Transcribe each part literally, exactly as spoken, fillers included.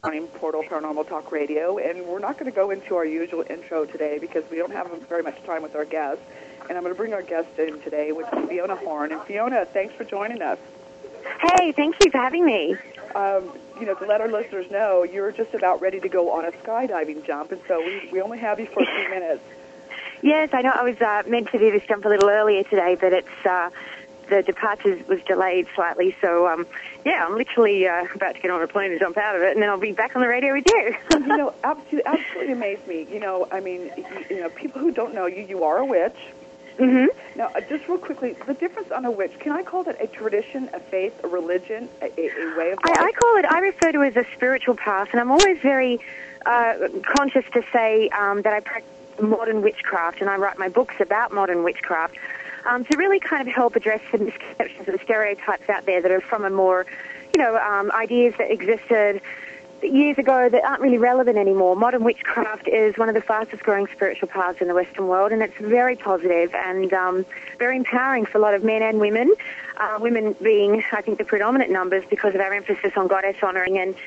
on Portal Paranormal Talk Radio, and we're not going to go into our usual intro today because we don't have very much time with our guests. And I'm going to bring our guest in today, which is Fiona Horn. And Fiona, thanks for joining us. Hey, thank you for having me. Um, you know, to let our listeners know, you're just about ready to go on a skydiving jump, and so we, we only have you for a few minutes. Yes, I know I was uh, meant to do this jump a little earlier today, but it's uh, the departure was delayed slightly, so um, yeah, I'm literally uh, about to get on a plane and jump out of it, and then I'll be back on the radio with you. You know, absolutely, absolutely amazed me. You know, I mean, you, you know, people who don't know you, you are a witch. Mm-hmm. Now, uh, just real quickly, the difference on a witch, can I call that a tradition, a faith, a religion, a, a, a way of life? I, I call it, I refer to it as a spiritual path, and I'm always very uh, conscious to say um, that I practice modern witchcraft, and I write my books about modern witchcraft um, to really kind of help address the misconceptions and stereotypes out there that are from a more, you know, um, ideas that existed years ago that aren't really relevant anymore. Modern witchcraft is one of the fastest growing spiritual paths in the Western world, and it's very positive and um, very empowering for a lot of men and women, uh, women being, I think, the predominant numbers because of our emphasis on goddess honoring and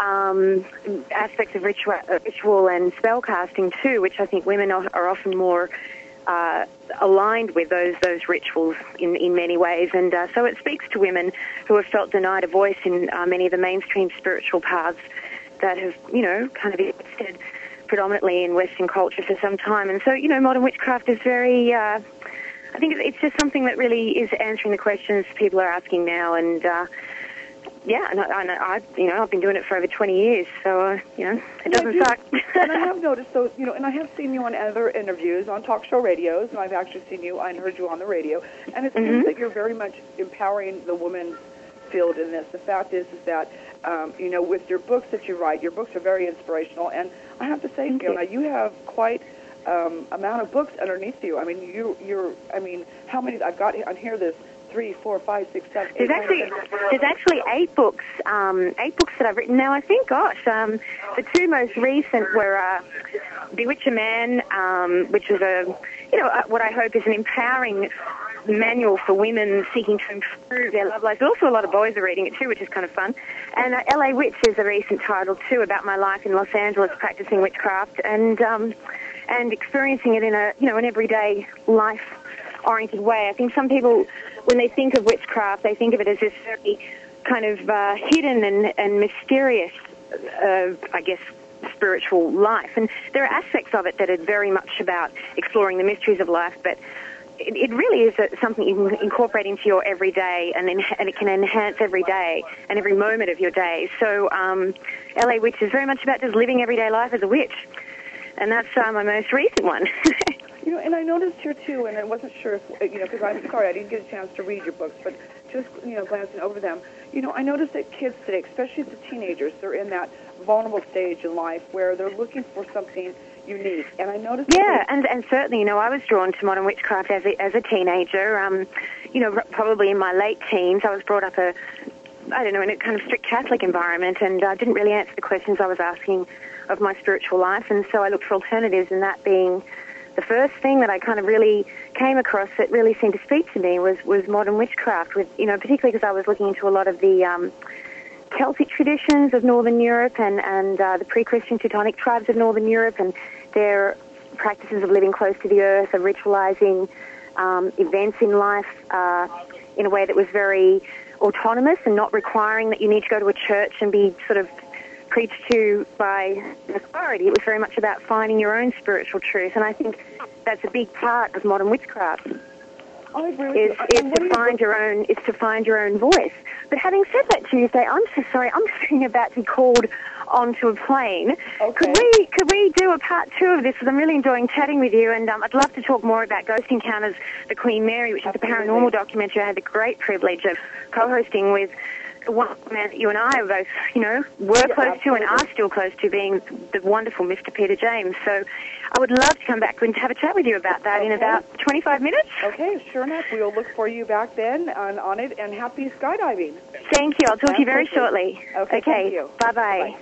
um, aspects of ritual, ritual and spell casting too, which I think women are, are often more uh, aligned with those those rituals in, in many ways. And uh, so it speaks to women who have felt denied a voice in uh, many of the mainstream spiritual paths that have, you know, kind of existed predominantly in Western culture for some time. And so, you know, modern witchcraft is very, uh, I think it's just something that really is answering the questions people are asking now. And, uh, yeah, and I, I, I, you know, I've been doing it for over twenty years, so, uh, you know, it doesn't yeah, suck. And I have noticed, so, you know, and I have seen you on other interviews, on talk show radios, and I've actually seen you and heard you on the radio, and it seems Mm-hmm. that you're very much empowering the women's field in this. The fact is, is that, um, you know, with your books that you write, your books are very inspirational, and I have to say, Thank Fiona, you. you have quite um, amount of books underneath you. I mean, you, you're, I mean, how many, I've got on here this three, four, five, six, seven, eight, There's actually there's actually eight books, um, eight books that I've written now. I think, gosh, um, the two most recent were uh, Bewitch a Man, um, which was a, you know, uh, what I hope is an empowering manual for women seeking to improve their love lives. But also, a lot of boys are reading it too, which is kind of fun. And uh, L A Witch is a recent title too about my life in Los Angeles practicing witchcraft and um, and experiencing it in a, you know, an everyday life oriented way. I think some people, when they think of witchcraft, they think of it as this very kind of uh, hidden and, and mysterious, uh, I guess, spiritual life. And there are aspects of it that are very much about exploring the mysteries of life, but it, it really is a, something you can incorporate into your everyday, and, en- and it can enhance every day and every moment of your day. So um, L A Witch is very much about just living everyday life as a witch. And that's uh, my most recent one. You know, and I noticed here, too, and I wasn't sure if, you know, because I'm sorry, I didn't get a chance to read your books, but just, you know, glancing over them, you know, I noticed that kids today, especially the teenagers, they're in that vulnerable stage in life where they're looking for something unique. And I noticed... Yeah, and, and certainly, you know, I was drawn to modern witchcraft as a, as a teenager. Um, you know, probably in my late teens, I was brought up a, I don't know, in a kind of strict Catholic environment, and I uh, didn't really answer the questions I was asking of my spiritual life, and so I looked for alternatives, and that being the first thing that I kind of really came across that really seemed to speak to me was, was modern witchcraft, with, you know, particularly because I was looking into a lot of the um, Celtic traditions of Northern Europe and, and uh, the pre-Christian Teutonic tribes of Northern Europe and their practices of living close to the earth, of ritualizing um, events in life uh, in a way that was very autonomous and not requiring that you need to go to a church and be sort of preached to by authority. It was very much about finding your own spiritual truth, and I think that's a big part of modern witchcraft. I agree with is, you. is to find your own is to find your own voice. But having said that, Tuesday, I'm so sorry. I'm sitting about to be called onto a plane. Okay. Could we could we do a part two of this? Because I'm really enjoying chatting with you, and um, I'd love to talk more about Ghost Encounters, the Queen Mary, which Absolutely. is a paranormal documentary I had the great privilege of co-hosting with one man that you and I are both, you know, were Yeah, close to and absolutely. are still close to, being the wonderful Mister Peter James. So I would love to come back and have a chat with you about that in Okay. about twenty-five minutes. Okay, sure enough. We'll look for you back then on, on it, and happy skydiving. Thank you. I'll talk to you very Absolutely. shortly. Okay, thank you. Bye-bye.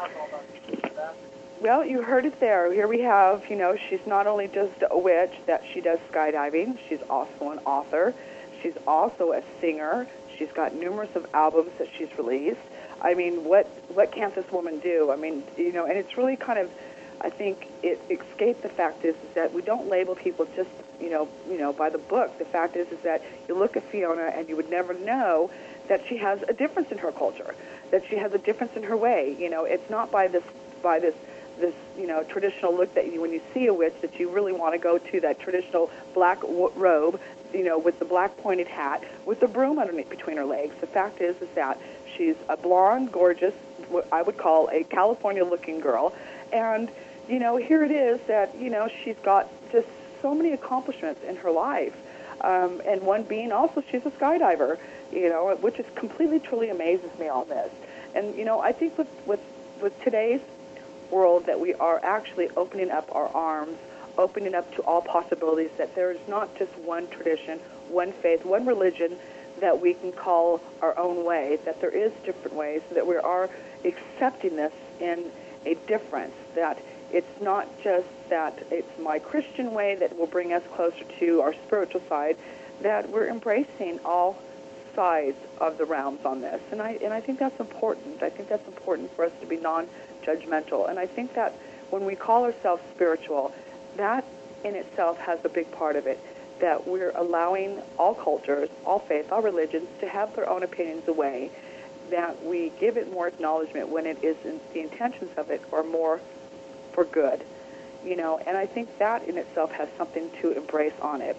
Bye. Well, you heard it there. Here we have, you know, she's not only just a witch, that she does skydiving, she's also an author. She's also a singer. She's got numerous of albums that she's released. I mean, what what can't this woman do? I mean, you know, and it's really kind of, I think it escaped the fact is, is that we don't label people just, you know, you know, by the book. The fact is, is that you look at Fiona and you would never know that she has a difference in her culture, that she has a difference in her way. You know, it's not by this, by this, this, you know, traditional look that you, when you see a witch, that you really want to go to that traditional black w- robe, you know, with the black pointed hat, with the broom underneath between her legs. The fact is, is that she's a blonde, gorgeous, what I would call a California-looking girl, and you know, here it is that, you know, she's got just so many accomplishments in her life. Um, and one being also she's a skydiver, you know, which is completely, truly amazes me, all this. And, you know, I think with, with, with today's world that we are actually opening up our arms, opening up to all possibilities, that there is not just one tradition, one faith, one religion that we can call our own way, that there is different ways, that we are accepting this in a difference, that it's not just that it's my Christian way that will bring us closer to our spiritual side, that we're embracing all sides of the realms on this. And I and I think that's important. I think that's important for us to be non-judgmental. And I think that when we call ourselves spiritual, that in itself has a big part of it, that we're allowing all cultures, all faiths, all religions to have their own opinions away, that we give it more acknowledgement when it is in, the intentions of it are more for good, you know, and I think that in itself has something to embrace on it.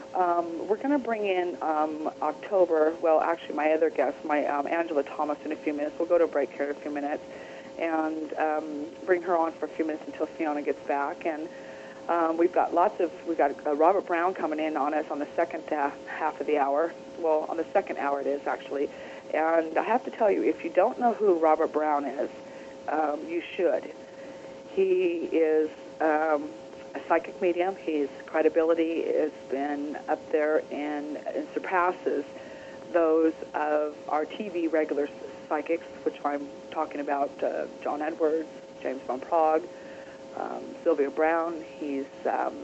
Um, we're going to bring in um, October, well, actually my other guest, my um, Angela Thomas, in a few minutes. We'll go to a break here in a few minutes and um, bring her on for a few minutes until Fiona gets back. And um, we've got lots of, we've got uh, Robert Brown coming in on us on the second uh, half of the hour. Well, on the second hour it is, actually. And I have to tell you, if you don't know who Robert Brown is, um, you should. He is um, a psychic medium. His credibility has been up there and, and surpasses those of our T V regular psychics, which I'm talking about uh, John Edwards, James Van Prague, um, Sylvia Brown. He's, um,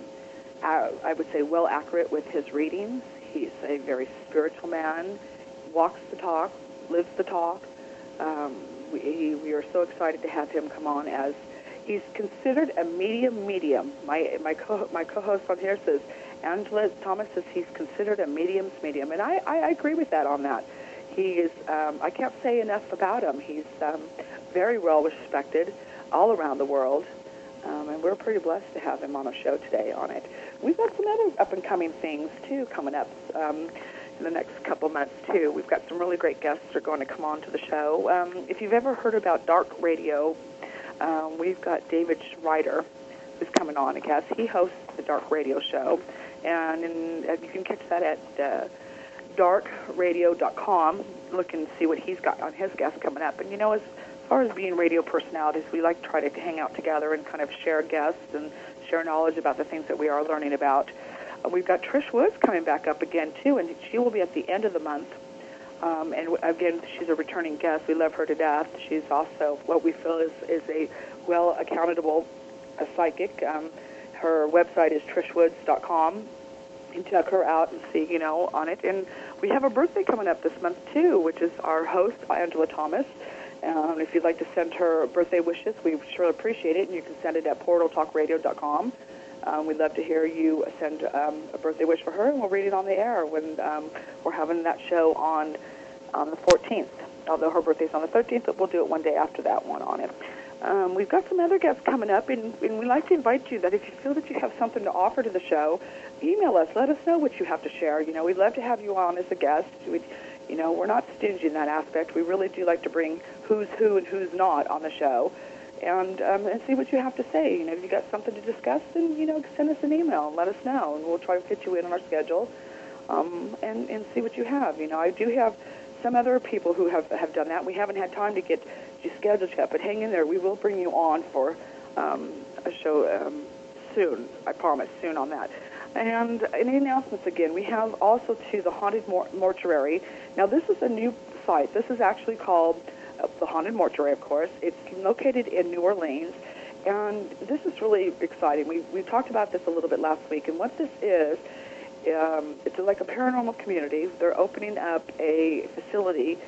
I would say, well accurate with his readings. He's a very spiritual man, walks the talk, lives the talk. Um, we, we are so excited to have him come on as he's considered a medium medium. My my co my co-host on here says, Angela Thomas says he's considered a medium's medium, and I, I agree with that on that. He is, um, I can't say enough about him. He's um, very well respected all around the world, um, and we're pretty blessed to have him on a show today on it. We've got some other up-and-coming things, too, coming up um, in the next couple months, too. We've got some really great guests that are going to come on to the show. Um, if you've ever heard about dark radio, Um, we've got David Schreider, who's coming on, I guess. He hosts the Dark Radio Show, and in, uh, you can catch that at uh, dark radio dot com. Look and see what he's got on his guests coming up. And, you know, as far as being radio personalities, we like to try to hang out together and kind of share guests and share knowledge about the things that we are learning about. Uh, we've got Trish Woods coming back up again, too, and she will be at the end of the month. Um, and again, she's a returning guest. We love her to death. She's also what we feel is, is a well accountable a psychic. Um, her website is trish woods dot com. You can check her out and see, you know, on it. And we have a birthday coming up this month, too, which is our host, Angela Thomas. Um, if you'd like to send her birthday wishes, we sure appreciate it. And you can send it at portal talk radio dot com. Um, we'd love to hear you send um, a birthday wish for her, and we'll read it on the air when um, we're having that show on on the fourteenth. Although her birthday's on the thirteenth, but we'll do it one day after that one on it. Um, we've got some other guests coming up, and, and we'd like to invite you that if you feel that you have something to offer to the show, email us. Let us know what you have to share. You know, we'd love to have you on as a guest. We'd, you know, we're not stingy in that aspect. We really do like to bring who's who and who's not on the show. And, um, and see what you have to say. You know, if you got something to discuss, then, you know, send us an email and let us know, and we'll try to fit you in on our schedule um, and, and see what you have. You know, I do have some other people who have, have done that. We haven't had time to get you scheduled yet, but hang in there. We will bring you on for um, a show um, soon, I promise, soon on that. And any announcements again, we have also, to the Haunted Mor- Mortuary. Now, this is a new site. This is actually called uh, the Haunted Mortuary, of course. It's located in New Orleans, and this is really exciting. We, we talked about this a little bit last week, and what this is, um, it's like a paranormal community. They're opening up a facility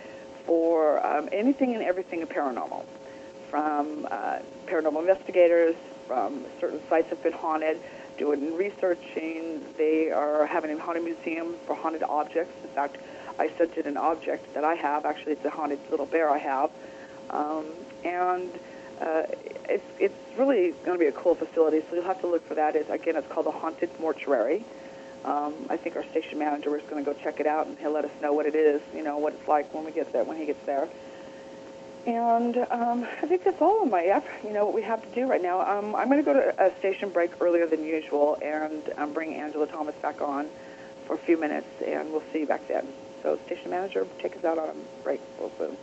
for um, anything and everything paranormal, from uh, paranormal investigators, from certain sites have been haunted, doing researching. They are having a haunted museum for haunted objects. In fact, I sent in an object that I have. Actually, it's a haunted little bear I have. Um, and uh, it's, it's really going to be a cool facility, so you'll have to look for that. It's, again, it's called the Haunted Mortuary. Um, I think our station manager is going to go check it out, and he'll let us know what it is, you know, what it's like when we get there, when he gets there. And um, I think that's all of my effort, you know, what we have to do right now. Um, I'm going to go to a station break earlier than usual and um, bring Angela Thomas back on for a few minutes, and we'll see you back then. So, station manager, take us out on a break real soon.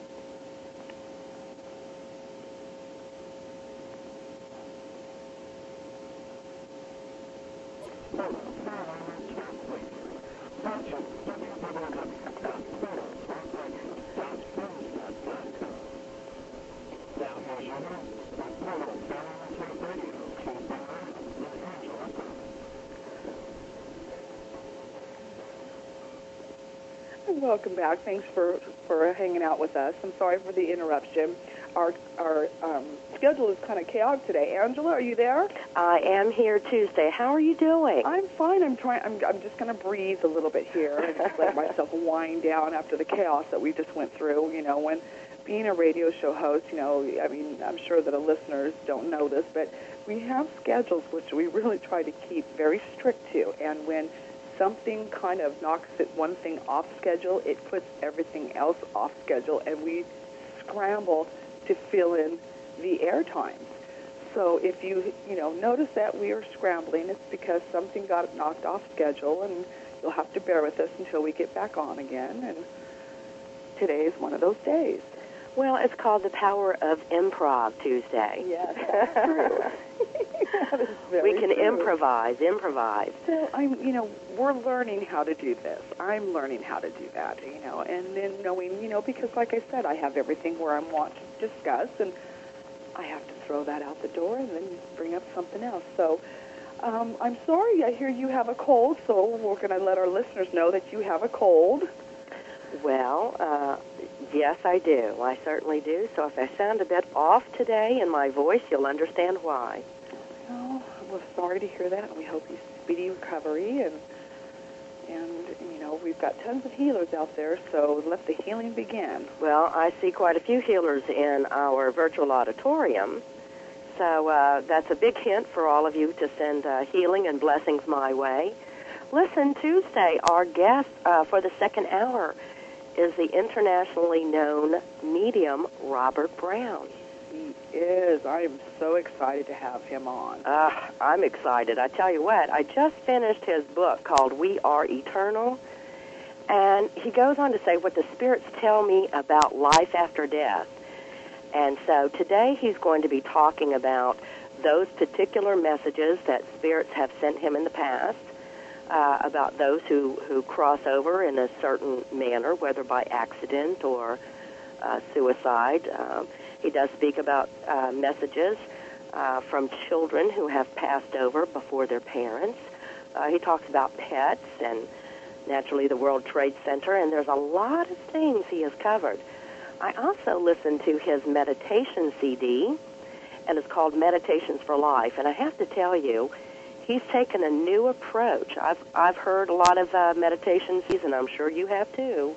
Welcome back. Thanks for, for hanging out with us. I'm sorry for the interruption. Our our um, schedule is kind of chaotic today. Angela, are you there? I am here Tuesday. How are you doing? I'm fine. I'm trying. I'm, I'm just going to breathe a little bit here and just let myself wind down after the chaos that we just went through. You know, when being a radio show host, you know, I mean, I'm sure that the listeners don't know this, but we have schedules which we really try to keep very strict to. And when something kind of knocks it one thing off schedule, it puts everything else off schedule, and we scramble to fill in the air times. So if you, you know, notice that we are scrambling, it's because something got knocked off schedule, and you'll have to bear with us until we get back on again. And today is one of those days. Well, it's called the Power of Improv Tuesday. Yes, that's true. That is very we can true. improvise, improvise. So I'm, you know, we're learning how to do this. I'm learning how to do that, you know, and then knowing, you know, because like I said, I have everything where I want to discuss, and I have to throw that out the door and then bring up something else. So um, I'm sorry. I hear you have a cold, so we're going to let our listeners know that you have a cold. Well, uh, yes, I do. I certainly do. So if I sound a bit off today in my voice, you'll understand why. Oh, we're sorry to hear that. We hope you speedy recovery, and and you know, we've got tons of healers out there, so let the healing begin. Well, I see quite a few healers in our virtual auditorium, so uh, that's a big hint for all of you to send uh, healing and blessings my way. Listen, Tuesday, our guest uh, for the second hour is the internationally known medium Robert Brown. He is. I am so excited to have him on. Uh, I'm excited. I tell you what, I just finished his book called We Are Eternal, and he goes on to say what the spirits tell me about life after death. And so today he's going to be talking about those particular messages that spirits have sent him in the past, uh, about those who, who cross over in a certain manner, whether by accident or uh, suicide. Um, He does speak about uh, messages uh, from children who have passed over before their parents. Uh, he talks about pets and, naturally, the World Trade Center, and there's a lot of things he has covered. I also listened to his meditation C D, and it's called Meditations for Life, and I have to tell you, he's taken a new approach. I've, I've heard a lot of uh, meditation C Ds, and I'm sure you have too.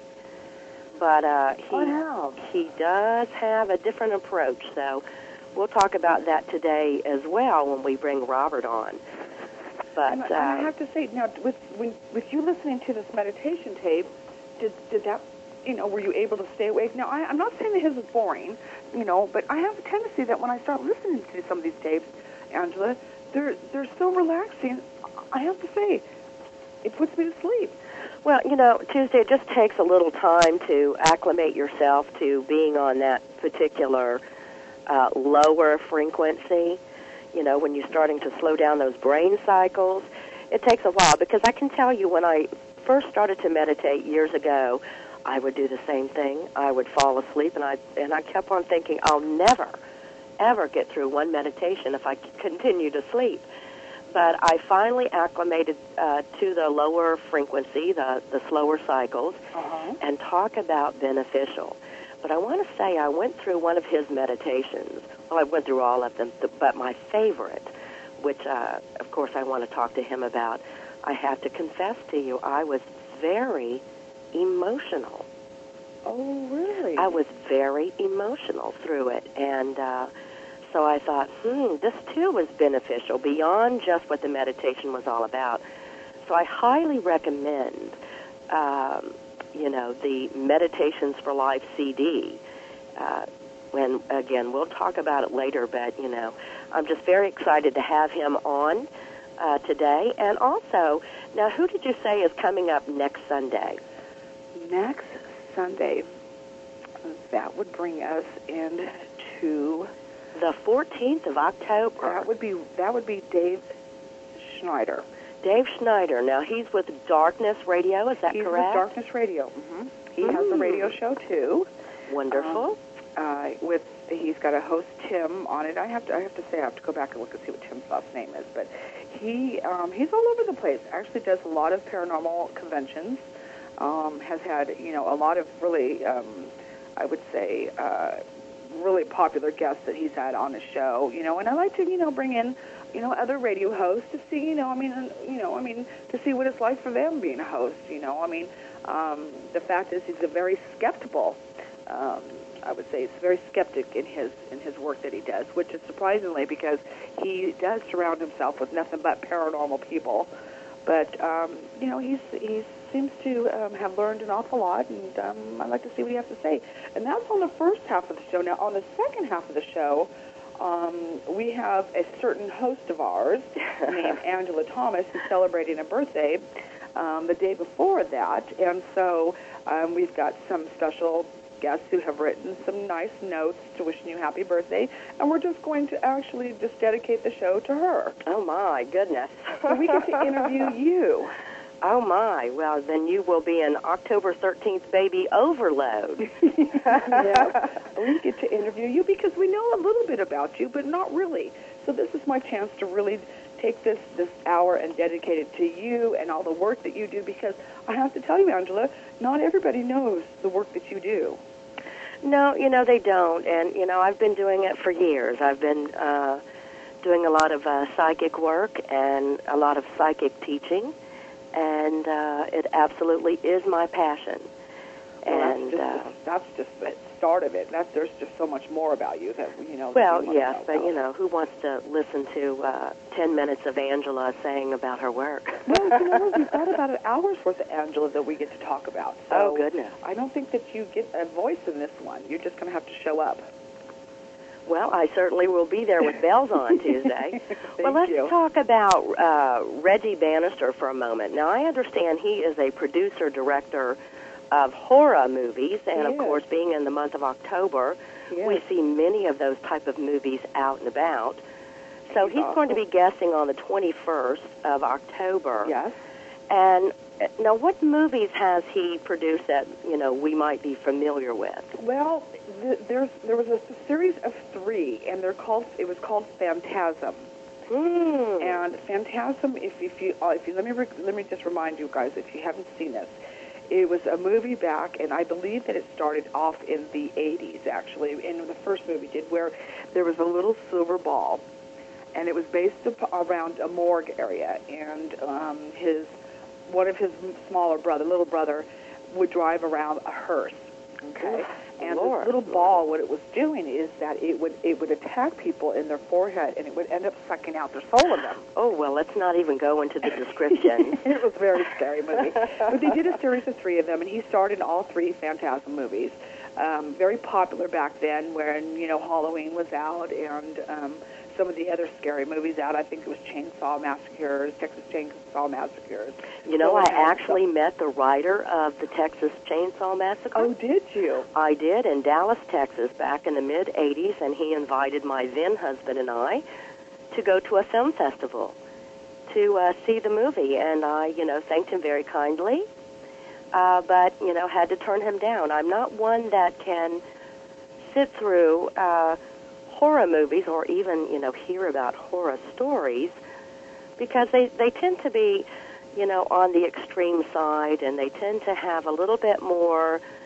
But uh, he, he does have a different approach, so we'll talk about that today as well when we bring Robert on. But and, uh, and I have to say, now, with when, with you listening to this meditation tape, did did that, you know, were you able to stay awake? Now, I, I'm not saying that his is boring, you know, but I have a tendency that when I start listening to some of these tapes, Angela, they're they're so relaxing. I have to say, it puts me to sleep. Well, you know, Tuesday, it just takes a little time to acclimate yourself to being on that particular uh, lower frequency. You know, when you're starting to slow down those brain cycles, it takes a while. Because I can tell you, when I first started to meditate years ago, I would do the same thing. I would fall asleep, and I and I kept on thinking, I'll never, ever get through one meditation if I continue to sleep. But I finally acclimated uh, to the lower frequency, the, the slower cycles, uh-huh. and talk about beneficial. but I want to say I went through one of his meditations. Well, I went through all of them, but my favorite, which, uh, of course, I want to talk to him about, I have to confess to you, I was very emotional. Oh, really? I was very emotional through it, and uh, so I thought, hmm, this too was beneficial beyond just what the meditation was all about. So I highly recommend, um, you know, the Meditations for Life C D. Uh, when, again, we'll talk about it later, but, you know, I'm just very excited to have him on uh, today. And also, now, who did you say is coming up next Sunday? Next Sunday, that would bring us into the fourteenth of October. That would be that would be Dave Schneider. Dave Schneider. Now he's with Darkness Radio. Is that he's correct? He's with Darkness Radio. Mm-hmm. He mm. has a radio show too. Wonderful. Um, uh, with he's got a host Tim on it. I have to I have to say I have to go back and look and see what Tim's last name is, but he um, he's all over the place. Actually, does a lot of paranormal conventions. Um, has had you know a lot of really um, I would say uh, really popular guests that he's had on the show. You know, and I like to you know bring in you know other radio hosts to see you know I mean you know I mean to see what it's like for them being a host. You know, I mean um, the fact is he's a very skeptical. Um, I would say he's very skeptic in his in his work that he does, which is surprisingly because he does surround himself with nothing but paranormal people. But um, you know, he's he's seems to um, have learned an awful lot, and um, I'd like to see what he has to say. And that's on the first half of the show. Now, on the second half of the show, um, we have a certain host of ours named Angela Thomas who's celebrating a birthday um, the day before that, and so um, we've got some special guests who have written some nice notes to wishing you happy birthday, and we're just going to actually just dedicate the show to her. Oh, my goodness. So we get to interview you. Oh, my. Well, then you will be an October thirteenth baby overload. Yeah. We get to interview you because we know a little bit about you, but not really. So this is my chance to really take this, this hour and dedicate it to you and all the work that you do, because I have to tell you, Angela, not everybody knows the work that you do. No, you know, they don't. And, you know, I've been doing it for years. I've been uh, doing a lot of uh, psychic work and a lot of psychic teaching. And uh, it absolutely is my passion. Well, and that's just, uh, the, that's just the start of it. That's, there's just so much more about you that, you know. Well, you yes, know but, you know, who wants to listen to uh, ten minutes of Angela saying about her work? Well, you know, we've got about an hour's worth of Angela that we get to talk about. So oh, goodness. I don't think that you get a voice in this one. You're just going to have to show up. Well, I certainly will be there with bells on Tuesday. Well, let's you. talk about uh, Reggie Bannister for a moment. Now, I understand he is a producer, director of horror movies, and, He of is. course, being in the month of October, He we is. see many of those type of movies out and about. So He's he's awesome. going to be guesting on the twenty-first of October. Yes. And uh, now, what movies has he produced that, you know, we might be familiar with? Well, th- there's there was a series of three, and they're called. It was called Phantasm. Hmm. And Phantasm, if if you uh, if you let me re- let me just remind you guys, if you haven't seen this, it was a movie back, and I believe that it started off in the eighties actually. And the first movie did, where there was a little silver ball, and it was based up around a morgue area, and um, his one of his smaller brother, little brother, would drive around a hearse. Okay, and Lord. this little ball, what it was doing is that it would it would attack people in their forehead, and it would end up sucking out their soul of them. Oh, well, let's not even go into the description. It was a very scary movie. But they did a series of three of them, and he starred in all three Phantasm movies. Um, very popular back then when, you know, Halloween was out, and um, some of the other scary movies out. I think it was Chainsaw Massacres, Texas Chainsaw Massacres. You know, So I it had actually some- met the writer of the Texas Chainsaw Massacre. Oh, did you? I did in Dallas, Texas, back in the mid-eighties, and he invited my then-husband and I to go to a film festival to uh, see the movie, and I, you know, thanked him very kindly, uh, but, you know, had to turn him down. I'm not one that can sit through uh, horror movies or even, you know, hear about horror stories, because they, they tend to be, you know, on the extreme side, and they tend to have a little bit more,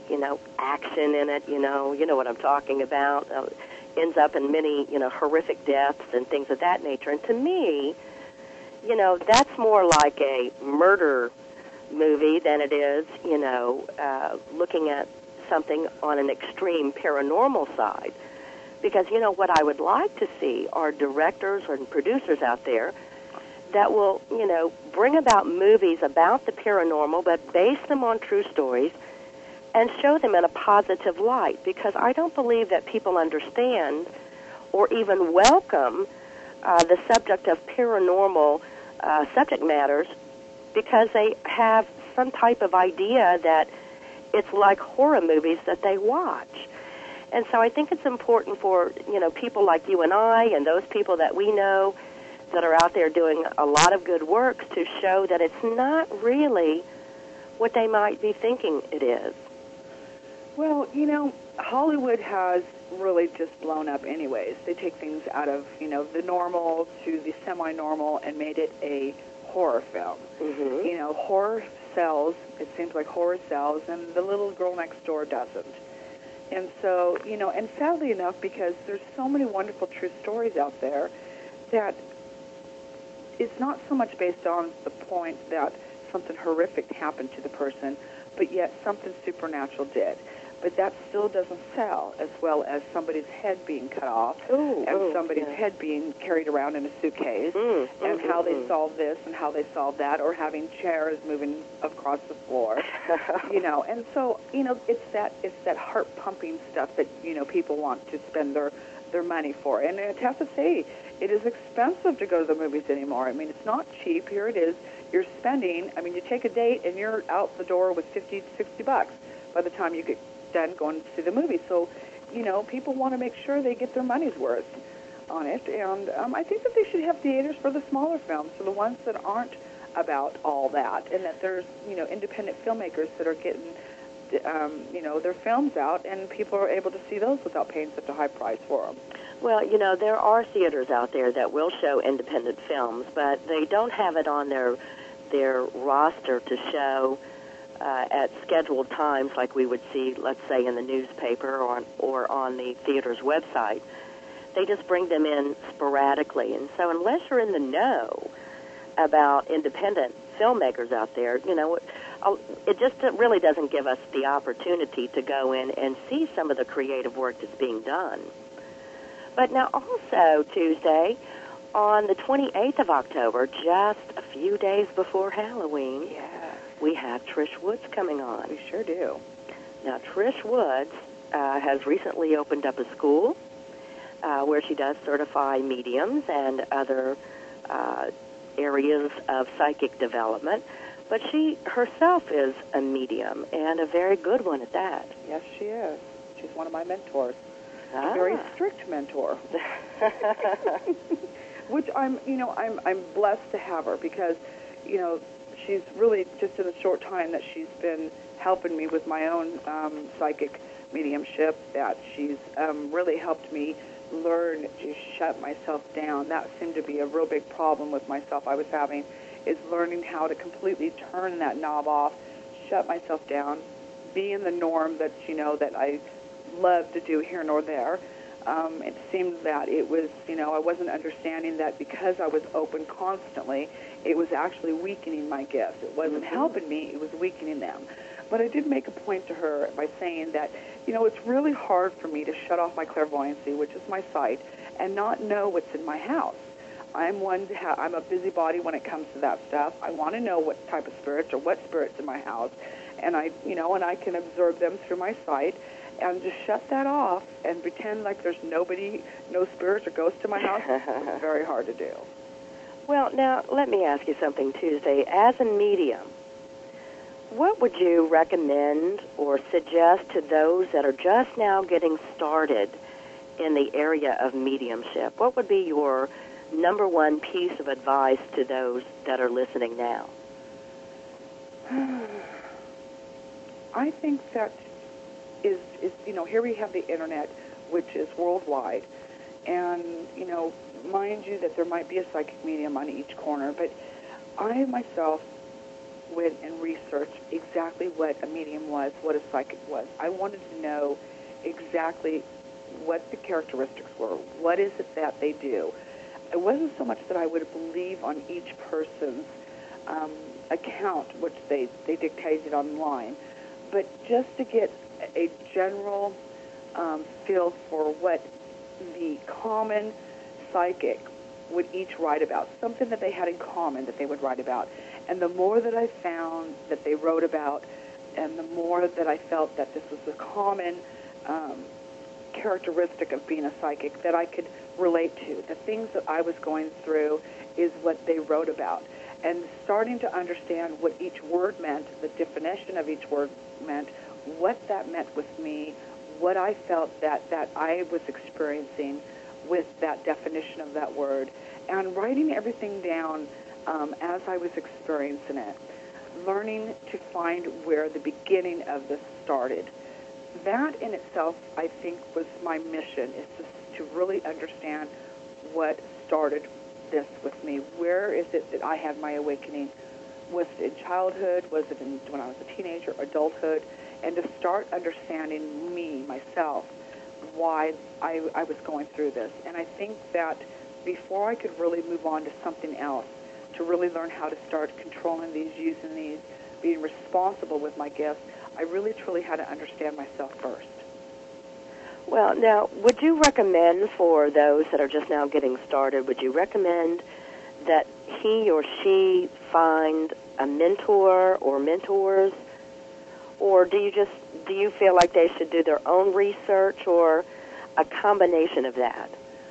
you know, action in it, you know, you know what I'm talking about, uh, ends up in many, you know, horrific deaths and things of that nature. And to me, you know, that's more like a murder movie than it is, you know, uh, looking at something on an extreme paranormal side. Because, you know, what I would like to see are directors and producers out there that will, you know, bring about movies about the paranormal, but base them on true stories and show them in a positive light. Because I don't believe that people understand or even welcome uh, the subject of paranormal uh, subject matters because they have some type of idea that it's like horror movies that they watch. And so I think it's important for, you know, people like you and I and those people that we know that are out there doing a lot of good work to show that it's not really what they might be thinking it is. Well, you know, Hollywood has really just blown up anyways. They take things out of, you know, the normal to the semi-normal and made it a horror film. Mm-hmm. You know, horror sells, it seems like horror sells, and the little girl next door doesn't. And so, you know, and sadly enough, because there's so many wonderful true stories out there, that it's not so much based on the point that something horrific happened to the person, but yet something supernatural did. But that still doesn't sell as well as somebody's head being cut off Ooh, and ooh, somebody's yeah. head being carried around in a suitcase Mm, and mm, how mm, they mm. solve this and how they solve that, or having chairs moving across the floor, you know. And so, you know, it's that it's that heart-pumping stuff that, you know, people want to spend their, their money for. And I have to say, it is expensive to go to the movies anymore. I mean, it's not cheap. Here it is. You're spending, I mean, you take a date and you're out the door with fifty, sixty bucks by the time you get done going to see the movie. So, you know, people want to make sure they get their money's worth on it. And um, I think that they should have theaters for the smaller films, for the ones that aren't about all that, and that there's, you know, independent filmmakers that are getting, um, you know, their films out, and people are able to see those without paying such a high price for them. Well, you know, there are theaters out there that will show independent films, but they don't have it on their their roster to show uh, at scheduled times like we would see, let's say, in the newspaper or on, or on the theater's website. They just bring them in sporadically. And so unless you're in the know about independent filmmakers out there, you know, it just really doesn't give us the opportunity to go in and see some of the creative work that's being done. But now also Tuesday, on the twenty-eighth of October, just a few days before Halloween, Yeah, we have Trish Woods coming on. we sure do. Now, Trish Woods uh, has recently opened up a school uh, where she does certify mediums and other uh, areas of psychic development. But she herself is a medium, and a very good one at that. Yes, she is. She's one of my mentors. Ah. A very strict mentor. Which I'm, you know, I'm I'm blessed to have her, because, you know, she's really, just in the short time that she's been helping me with my own um, psychic mediumship, that she's um, really helped me learn to shut myself down. That seemed to be a real big problem with myself I was having, is learning how to completely turn that knob off, shut myself down, be in the norm that, you know, that I love to do here nor there. Um, it seemed that it was, you know, I wasn't understanding that because I was open constantly, it was actually weakening my gifts. It wasn't Mm-hmm. helping me, it was weakening them. But I did make a point to her by saying that, you know, it's really hard for me to shut off my clairvoyancy, which is my sight, and not know what's in my house. I'm one to have, I'm a busybody when it comes to that stuff. I want to know what type of spirits or what spirits in my house, and I, you know, and I can observe them through my sight. And just shut that off and pretend like there's nobody, no spirits or ghosts in my house, it's very hard to do. Well, now, let me ask you something, Tuesday. As a medium, what would you recommend or suggest to those that are just now getting started in the area of mediumship? What would be your number one piece of advice to those that are listening now? I think that is, is, you know, here we have the internet, which is worldwide. And, you know, mind you that there might be a psychic medium on each corner, but I myself went and researched exactly what a medium was, what a psychic was. I wanted to know exactly what the characteristics were. What is it that they do? It wasn't so much that I would believe on each person's um, account, which they, they dictated online, but just to get a general um, feel for what the common psychic would each write about, something that they had in common that they would write about. And the more that I found that they wrote about, and the more that I felt that this was a common um, characteristic of being a psychic that I could relate to. The things that I was going through is what they wrote about. And starting to understand what each word meant, the definition of each word meant, what that meant with me, what I felt that, that I was experiencing with that definition of that word, and writing everything down um, as I was experiencing it, learning to find where the beginning of this started. That in itself, I think, was my mission, is to, to really understand what started this with me. Where is it that I had my awakening? Was it in childhood? Was it in, when I was a teenager, adulthood? And to start understanding me, myself, why I, I was going through this. And I think that before I could really move on to something else, to really learn how to start controlling these, using these, being responsible with my gifts, I really truly had to understand myself first. Well, now, would you recommend for those that are just now getting started, would you recommend that he or she find a mentor or mentors? Or do you just do you feel like they should do their own research, or a combination of that?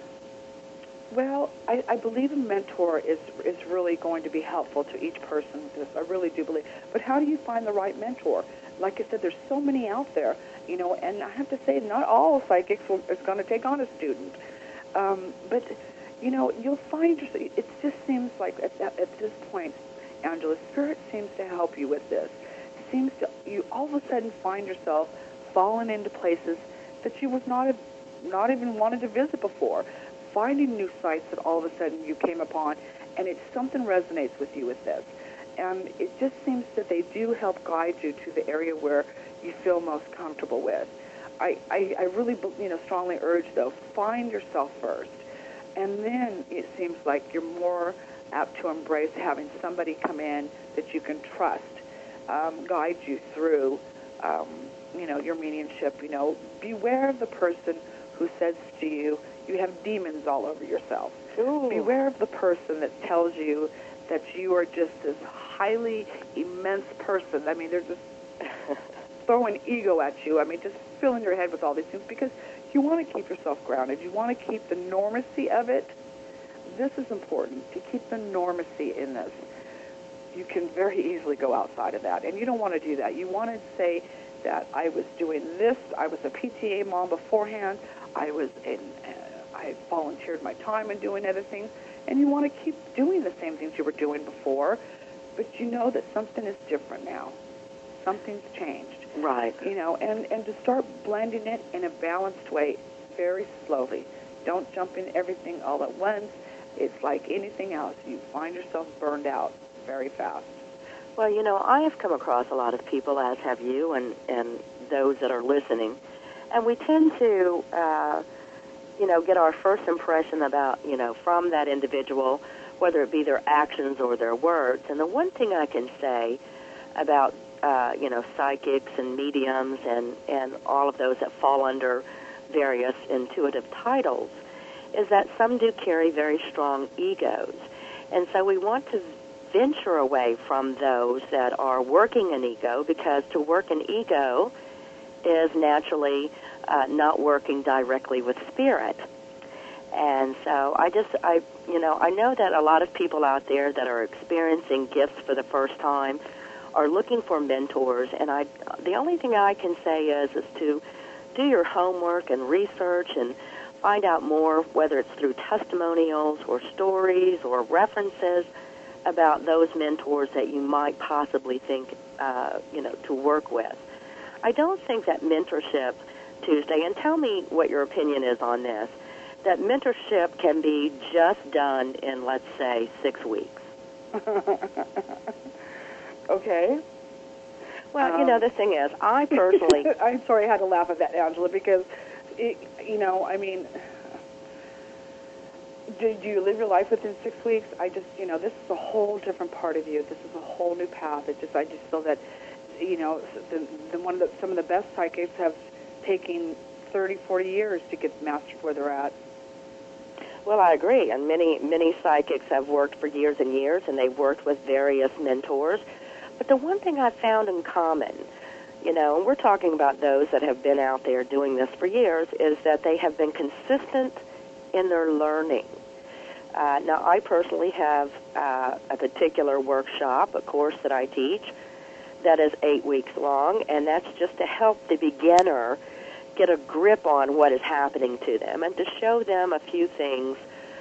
Well, I, I believe a mentor is is really going to be helpful to each person. This I really do believe. But how do you find the right mentor? Like I said, there's so many out there, you know, and I have to say, not all psychics will, is going to take on a student. Um, but, you know, you'll find yourself, it just seems like at, at, at this point, Angela, Spirit seems to help you with this. Seems to, you all of a sudden find yourself falling into places that you was not, not even wanted to visit before, finding new sites that all of a sudden you came upon, and it's something resonates with you with this. And it just seems that they do help guide you to the area where you feel most comfortable with. I, I, I really, you know, strongly urge, though, find yourself first. And then it seems like you're more apt to embrace having somebody come in that you can trust, um, guide you through, um, you know, your mediumship. You know, beware of the person who says to you, you have demons all over yourself. Ooh. Beware of the person that tells you that you are just this highly immense person. I mean, they're just throwing ego at you. I mean, just filling your head with all these things, because you want to keep yourself grounded. You want to keep the normacy of it. This is important, to keep the normacy in this. You can very easily go outside of that, and you don't want to do that. You want to say that I was doing this, I was a P T A mom beforehand, I was in, uh, I volunteered my time in doing other things, and you want to keep doing the same things you were doing before, but you know that something is different now. Something's changed. Right. You know, and, and to start blending it in a balanced way very slowly. Don't jump in everything all at once. It's like anything else. You find yourself burned out very fast. Well, you know, I have come across a lot of people, as have you, and, and those that are listening, and we tend to, uh, you know, get our first impression about, you know, from that individual, whether it be their actions or their words. And the one thing I can say about, uh, you know, psychics and mediums and, and all of those that fall under various intuitive titles is that some do carry very strong egos. And so we want to venture away from those that are working an ego, because to work an ego is naturally uh, not working directly with spirit. And so I just, I, you know, I know that a lot of people out there that are experiencing gifts for the first time are looking for mentors, and I, the only thing I can say is, is to do your homework and research and find out more, whether it's through testimonials or stories or references about those mentors that you might possibly think, uh, you know, to work with. I don't think that mentorship, Tuesday, and tell me what your opinion is on this, that mentorship can be just done in, let's say, six weeks. Okay. Well, um, you know, the thing is, I personally... I'm sorry I had to laugh at that, Angela, because, it, you know, I mean, do, do you live your life within six weeks? I just, you know, this is a whole different part of you. This is a whole new path. It just, I just feel that, you know, the, the one of the, some of the best psychics have taken thirty, forty years to get mastered where they're at. Well, I agree, and many, many psychics have worked for years and years, and they've worked with various mentors. But the one thing I've found in common, you know, and we're talking about those that have been out there doing this for years, is that they have been consistent in their learning. Uh, now, I personally have uh, a particular workshop, a course that I teach, that is eight weeks long, and that's just to help the beginner get a grip on what is happening to them and to show them a few things,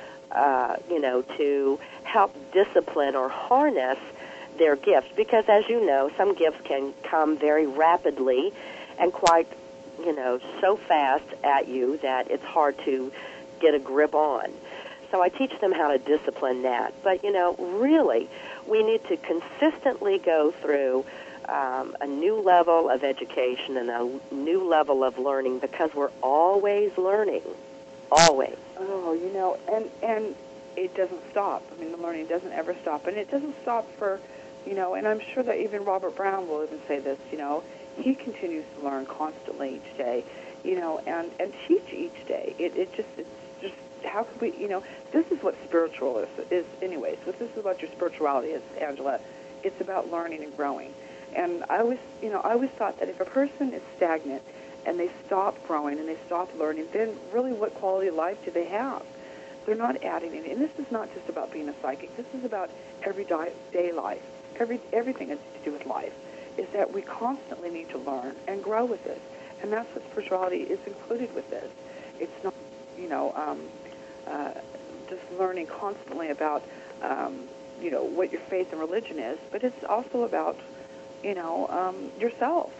uh, you know, to help discipline or harness their gifts. Because, as you know, some gifts can come very rapidly and quite, you know, so fast at you that it's hard to get a grip on. So I teach them how to discipline that. But, you know, really, we need to consistently go through Um, a new level of education and a new level of learning, because we're always learning, always. Oh, you know, and and it doesn't stop. I mean, the learning doesn't ever stop, and it doesn't stop for, you know, and I'm sure that even Robert Brown will even say this, you know, he continues to learn constantly each day, you know, and, and teach each day. It it just, it's just, how could we, you know, this is what spiritual is, is anyways. This is what your spirituality is, Angela. It's about learning and growing. And I always, you know, I always thought that if a person is stagnant and they stop growing and they stop learning, then really what quality of life do they have? They're not adding any. And this is not just about being a psychic. This is about everyday life, every everything that's to do with life, is that we constantly need to learn and grow with this. And that's what spirituality is included with this. It's not, you know, um, uh, just learning constantly about, um, you know, what your faith and religion is, but it's also about, you know, um, yourself.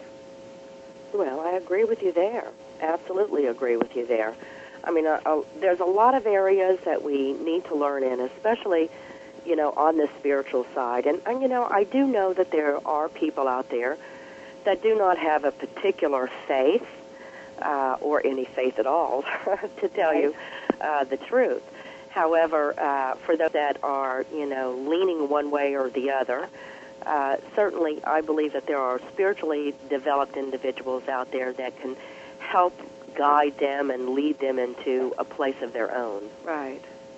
Well, I agree with you there. Absolutely agree with you there. I mean, uh, uh, there's a lot of areas that we need to learn in, especially, you know, on the spiritual side. And, and, you know, I do know that there are people out there that do not have a particular faith uh, or any faith at all, to tell right. you uh, the truth. However, uh, for those that are, you know, leaning one way or the other, Uh, certainly, I believe that there are spiritually developed individuals out there that can help guide them and lead them into a place of their own. Right.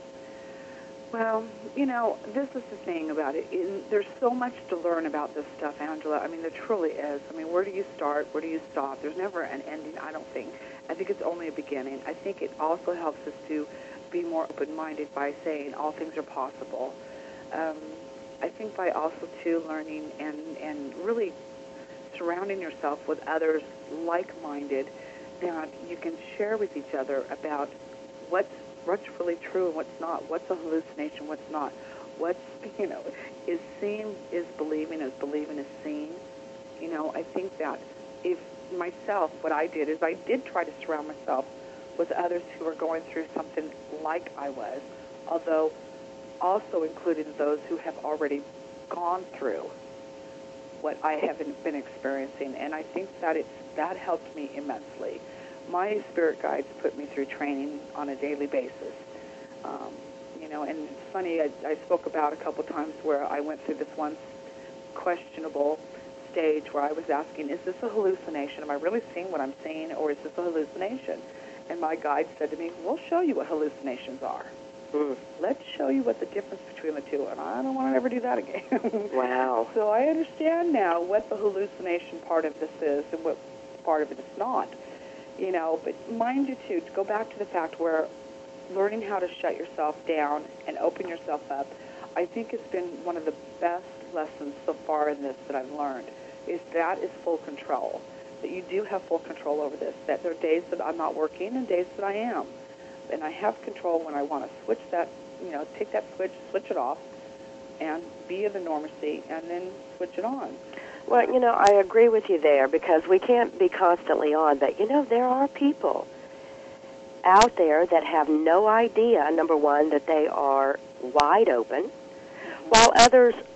Well, you know, this is the thing about it. In, there's so much to learn about this stuff, Angela. I mean, there truly is. I mean, where do you start? Where do you stop? There's never an ending, I don't think. I think it's only a beginning. I think it also helps us to be more open-minded by saying all things are possible. Um, I think by also, too, learning and, and really surrounding yourself with others like-minded, that you can share with each other about what's, what's really true and what's not, what's a hallucination, what's not, what's, you know, is seeing is believing, is believing is seeing. You know, I think that if myself, what I did is I did try to surround myself with others who are going through something like I was, although also including those who have already gone through what I have been experiencing, and I think that it's that helped me immensely. My spirit guides put me through training on a daily basis. Um, you know, and it's funny, I, I spoke about a couple times where I went through this one questionable stage where I was asking, is this a hallucination? Am I really seeing what I'm seeing, or is this a hallucination? And my guide said to me, we'll show you what hallucinations are. Mm. Let's show you what the difference between the two, and I don't want to ever do that again. Wow. So I understand now what the hallucination part of this is and what part of it is not. You know, but mind you, too, to go back to the fact where learning how to shut yourself down and open yourself up, I think it's been one of the best lessons so far in this that I've learned, is that is full control, that you do have full control over this, that there are days that I'm not working and days that I am. And I have control when I want to switch that, you know, take that switch, switch it off, and be in the normacy, and then switch it on. Well, you know, I agree with you there, because we can't be constantly on, but, you know, there are people out there that have no idea, number one, that they are wide open, while others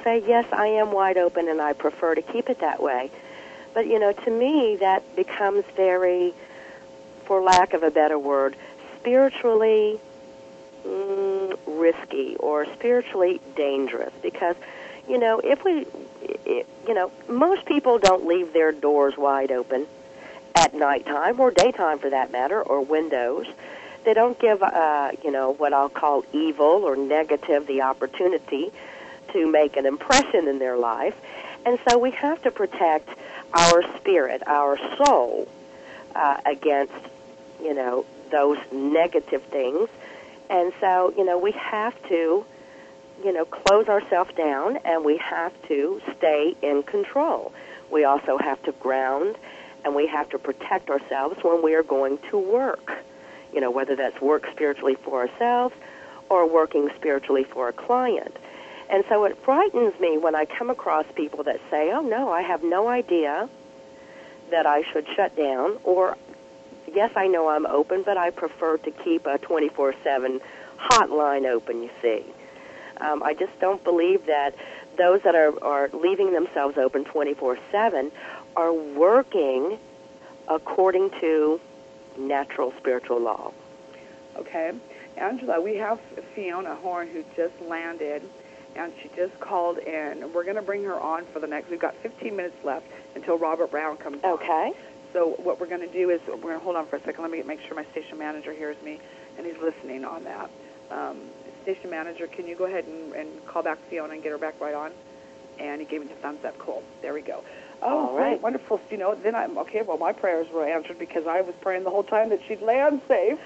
say, yes, I am wide open and I prefer to keep it that way. But, you know, to me, that becomes very, for lack of a better word, spiritually mm, risky or spiritually dangerous. Because, you know, if we, it, you know, most people don't leave their doors wide open at nighttime or daytime for that matter, or windows. They don't give, uh, you know, what I'll call evil or negative the opportunity to make an impression in their life. And so we have to protect our spirit, our soul, uh, against, you know, those negative things. And so, you know, we have to, you know, close ourselves down, and we have to stay in control. We also have to ground, and we have to protect ourselves when we are going to work. You know, whether that's work spiritually for ourselves or working spiritually for a client. And so it frightens me when I come across people that say, oh, no, I have no idea that I should shut down, or, yes, I know I'm open, but I prefer to keep a twenty-four seven hotline open, you see. Um, I just don't believe that those that are, are leaving themselves open twenty-four seven are working according to natural spiritual law. Okay. Angela, we have Fiona Horn who just landed, and she just called in. We're going to bring her on for the next, we've got fifteen minutes left until Robert Brown comes on. Okay. So what we're going to do is, we're going to hold on for a second. Let me make sure my station manager hears me, and he's listening on that. Um, station manager, can you go ahead and, and call back Fiona and get her back right on? And he gave me the thumbs up. Cool. There we go. Oh, all right. Great, wonderful. You know, then I'm, okay, well, my prayers were answered because I was praying the whole time that she'd land safe.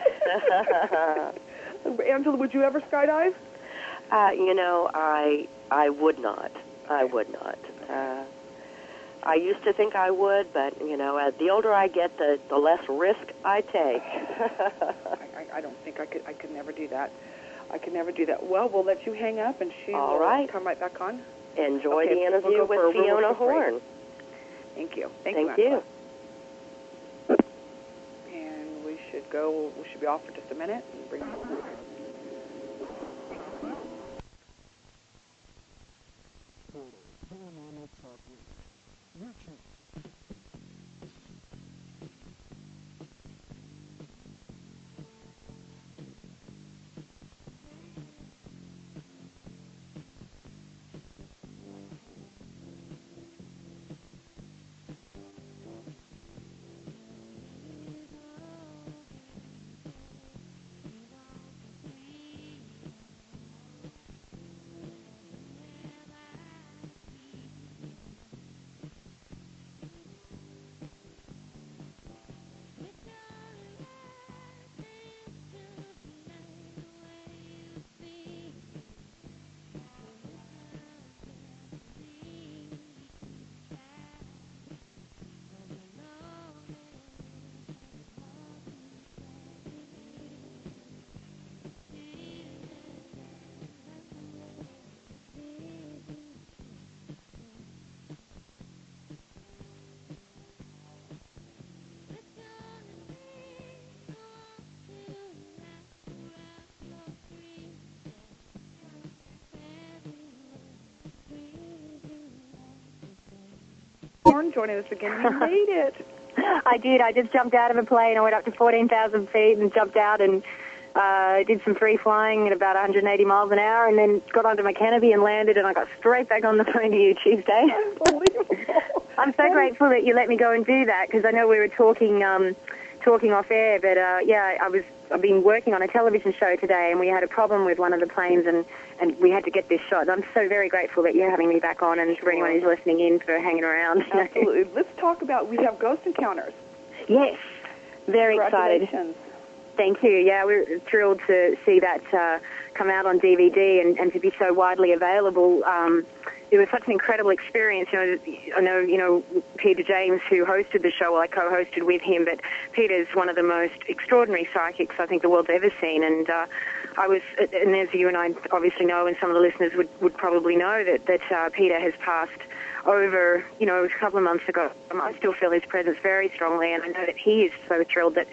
Angela, would you ever skydive? Uh, you know, I I would not. I would not. Uh, I used to think I would, but, you know, uh, the older I get, the, the less risk I take. I, I, I don't think I could I could never do that. I could never do that. Well, we'll let you hang up, and she All will right. come right back on. Enjoy okay, the interview we'll with Fiona Horn. Thank you. Thank, Thank you. you. And we should go, we should be off for just a minute and bring Horn joining us again. You made it. I did. I just jumped out of a plane. I went up to fourteen thousand feet and jumped out and uh, did some free flying at about one hundred eighty miles an hour, and then got onto my canopy and landed, and I got straight back on the phone to you Tuesday. Unbelievable. I'm so grateful that you let me go and do that, because I know we were talking um, talking off air, but uh, yeah, I was I've been working on a television show today, and we had a problem with one of the planes, and, and we had to get this shot. I'm so very grateful that you're having me back on, and for anyone who's listening in, for hanging around. Absolutely. Let's talk about, we have Ghost Encounters. Yes, very excited. Thank you. Yeah, we're thrilled to see that uh, come out on D V D and, and to be so widely available. Um, it was such an incredible experience. You know, I know, you know, Peter James, who hosted the show, well, I co-hosted with him, but Peter's one of the most extraordinary psychics I think the world's ever seen. And uh, I was, and as you and I obviously know, and some of the listeners would, would probably know, that, that uh, Peter has passed over, you know, a couple of months ago. Um, I still feel his presence very strongly, and I know that he is so thrilled that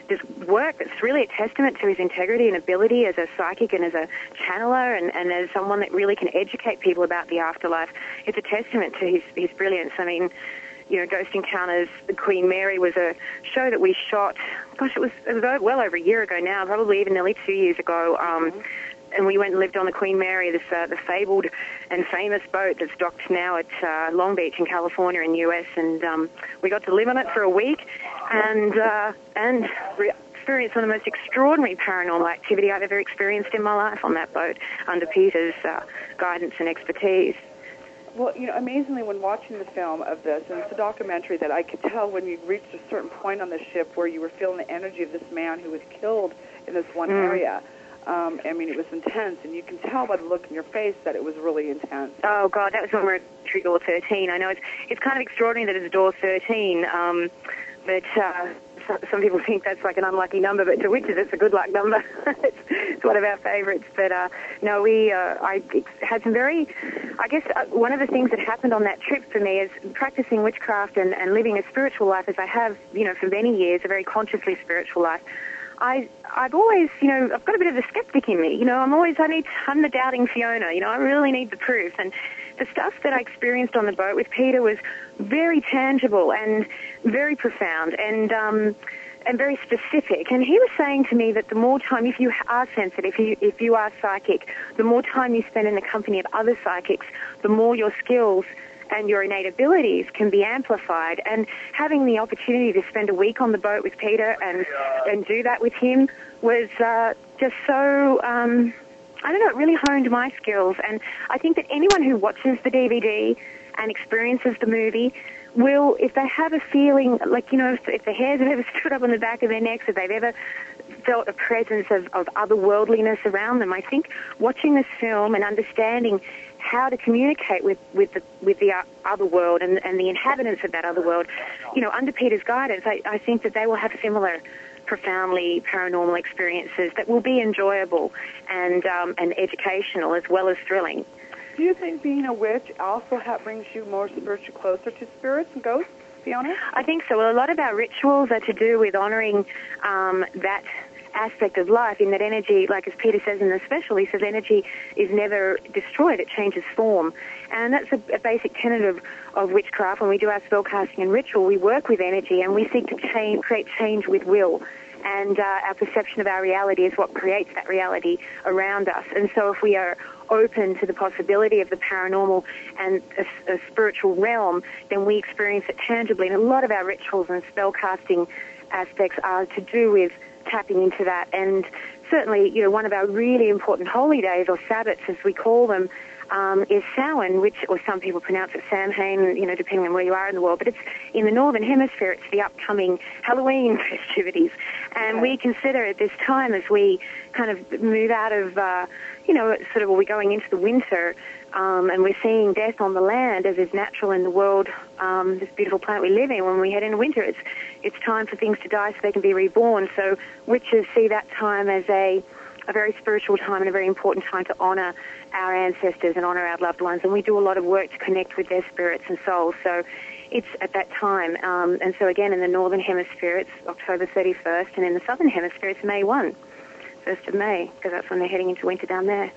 this work that's really a testament to his integrity and ability as a psychic and as a channeler and, and as someone that really can educate people about the afterlife. It's a testament to his, his brilliance. I mean, you know, Ghost Encounters, The Queen Mary was a show that we shot, gosh, it was, it was well over a year ago now, probably even nearly two years ago. Um, mm-hmm. And we went and lived on the Queen Mary, this uh, the fabled and famous boat that's docked now at uh, Long Beach in California in the U S. And um, we got to live on it for a week and uh, and re- experienced some of the most extraordinary paranormal activity I've ever experienced in my life on that boat under Peter's uh, guidance and expertise. Well, you know, amazingly, when watching the film of this, and it's a documentary that I could tell when you reached a certain point on the ship where you were feeling the energy of this man who was killed in this one mm. area. Um, I mean, it was intense, and you can tell by the look in your face that it was really intense. Oh, God, that was when we were at door thirteen. I know it's it's kind of extraordinary that it's door thirteen, um, but uh, so, some people think that's like an unlucky number, but to witches it's a good luck number. it's, it's one of our favourites. But, uh, no, we, uh, I had some very, I guess uh, one of the things that happened on that trip for me is practicing witchcraft and, and living a spiritual life as I have, you know, for many years, a very consciously spiritual life. I, I've always, you know, I've got a bit of a skeptic in me. You know, I'm always, I need, I'm the doubting Fiona. You know, I really need the proof. And the stuff that I experienced on the boat with Peter was very tangible and very profound and, um, and very specific. And he was saying to me that the more time, if you are sensitive, if you, if you are psychic, the more time you spend in the company of other psychics, the more your skills and your innate abilities can be amplified. And having the opportunity to spend a week on the boat with Peter and and do that with him was uh, just so, um, I don't know, it really honed my skills. And I think that anyone who watches the D V D and experiences the movie will, if they have a feeling, like, you know, if, if the hairs have ever stood up on the back of their necks, if they've ever felt a presence of, of otherworldliness around them, I think watching this film and understanding how to communicate with, with the with the other world and, and the inhabitants of that other world, you know, under Peter's guidance, I, I think that they will have similar profoundly paranormal experiences that will be enjoyable and um, and educational as well as thrilling. Do you think being a witch also ha- brings you more spiritually closer to spirits and ghosts, Fiona? I think so. Well, a lot of our rituals are to do with honoring um, that aspect of life, in that energy, like as Peter says in the special, he says energy is never destroyed, it changes form. And that's a, a basic tenet of, of witchcraft. When we do our spellcasting and ritual, we work with energy and we seek to change, create change with will. And uh, our perception of our reality is what creates that reality around us. And so if we are open to the possibility of the paranormal and a, a spiritual realm, then we experience it tangibly. And a lot of our rituals and spellcasting aspects are to do with tapping into that. And certainly, you know, one of our really important holy days, or Sabbats as we call them, um, is Samhain, which, or some people pronounce it Samhain, you know, depending on where you are in the world. But it's in the Northern Hemisphere, it's the upcoming Halloween festivities. And okay. we consider at this time, as we kind of move out of, uh, you know, sort of, well, we're going into the winter, um, and we're seeing death on the land as is natural in the world, um, this beautiful planet we live in. When we head into winter, it's it's time for things to die so they can be reborn. So witches see that time as a a very spiritual time and a very important time to honor our ancestors and honor our loved ones. And we do a lot of work to connect with their spirits and souls. So it's at that time. Um, and so again, in the Northern Hemisphere, it's October thirty-first, and in the Southern Hemisphere, it's May first, first of May, because that's when they're heading into winter down there.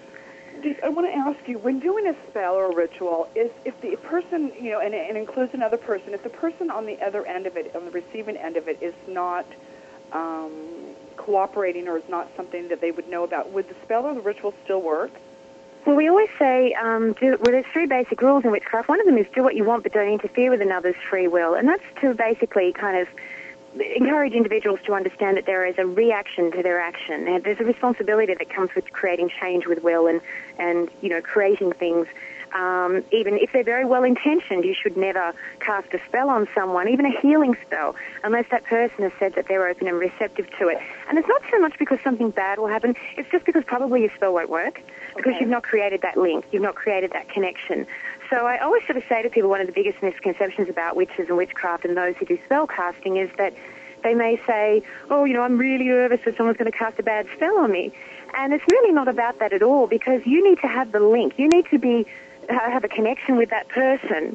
I want to ask you, when doing a spell or a ritual, is if the person, you know, and it includes another person, if the person on the other end of it, on the receiving end of it, is not um, cooperating or is not something that they would know about, would the spell or the ritual still work? Well, we always say, um, do, well, there's three basic rules in witchcraft. One of them is do what you want, but don't interfere with another's free will. And that's to basically kind of encourage individuals to understand that there is a reaction to their action. And there's a responsibility that comes with creating change with will and, and you know, creating things. Um, even if they're very well-intentioned, you should never cast a spell on someone, even a healing spell, unless that person has said that they're open and receptive to it. And it's not so much because something bad will happen, it's just because probably your spell won't work, because okay. you've not created that link, you've not created that connection. So I always sort of say to people, one of the biggest misconceptions about witches and witchcraft and those who do spell casting is that they may say, oh, you know, I'm really nervous that someone's going to cast a bad spell on me. And it's really not about that at all, because you need to have the link. You need to be have a connection with that person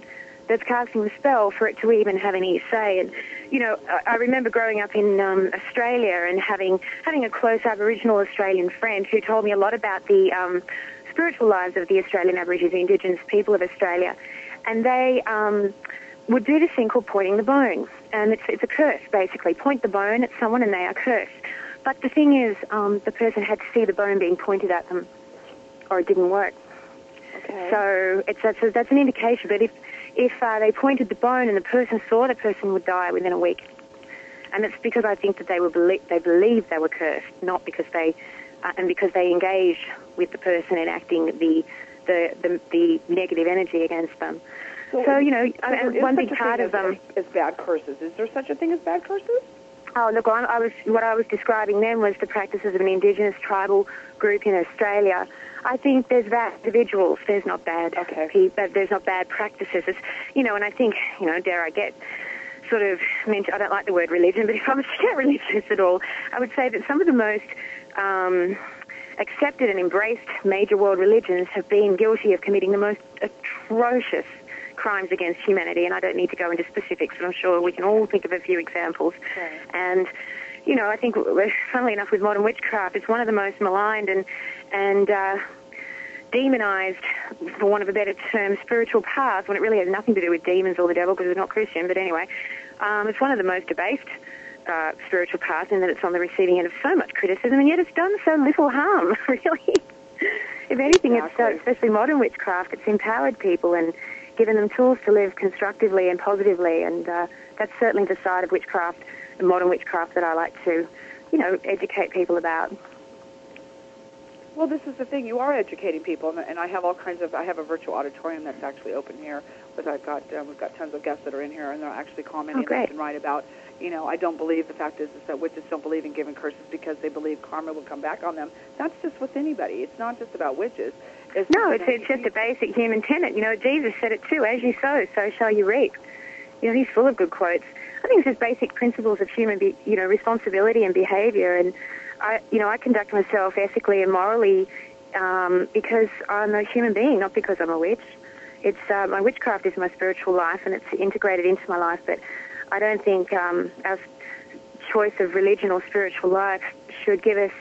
that's casting the spell for it to even have any say. And, you know, I, I remember growing up in um, Australia and having having a close Aboriginal Australian friend who told me a lot about the um, spiritual lives of the Australian Aborigines, the Indigenous people of Australia. And they um, would do this thing called pointing the bone. And it's, it's a curse, basically. Point the bone at someone and they are cursed. But the thing is, um, the person had to see the bone being pointed at them, or it didn't work. Okay. So it's, that's, a, that's an indication. But if, if uh, they pointed the bone and the person saw, the person would die within a week. And it's because I think that they were belie- they believed they were cursed, not because they, uh, and because they engaged with the person enacting the the, the, the negative energy against them. So, so you know, so and one big part of them is bad curses. Is there such a thing as bad curses? Oh, look, I, I was what I was describing then was the practices of an Indigenous tribal group in Australia. I think there's bad individuals. There's not bad okay. people. There's not bad practices. It's, you know, and I think, you know, dare I get sort of mention, I don't like the word religion, but if I was to get religious at all, I would say that some of the most um, accepted and embraced major world religions have been guilty of committing the most atrocious crimes against humanity, and I don't need to go into specifics, but I'm sure we can all think of a few examples. Right. And, you know, I think, funnily enough, with modern witchcraft, it's one of the most maligned and, and uh, demonized, for want of a better term, spiritual paths, when it really has nothing to do with demons or the devil, because we're not Christian, but anyway, um, it's one of the most debased uh, spiritual paths in that it's on the receiving end of so much criticism, and yet it's done so little harm, really. If anything, exactly. it's, uh, especially modern witchcraft, it's empowered people and given them tools to live constructively and positively, and uh, that's certainly the side of witchcraft, modern witchcraft, that I like to, you know, educate people about. Well, this is the thing. You are educating people, and, and I have all kinds of. I have a virtual auditorium that's actually open here, but I've got um, we've got tons of guests that are in here, and they're actually commenting oh, left and right about. You know, I don't believe the fact is, is that witches don't believe in giving curses because they believe karma will come back on them. That's just with anybody. It's not just about witches. It's, no, it's, know, it's just a basic human tenet. You know, Jesus said it too, as you sow, so shall you reap. You know, he's full of good quotes. I think it's just basic principles of human, be, you know, responsibility and behavior. And, I, you know, I conduct myself ethically and morally um, because I'm a human being, not because I'm a witch. It's uh, my witchcraft is my spiritual life, and it's integrated into my life, but I don't think um, our choice of religion or spiritual life should give us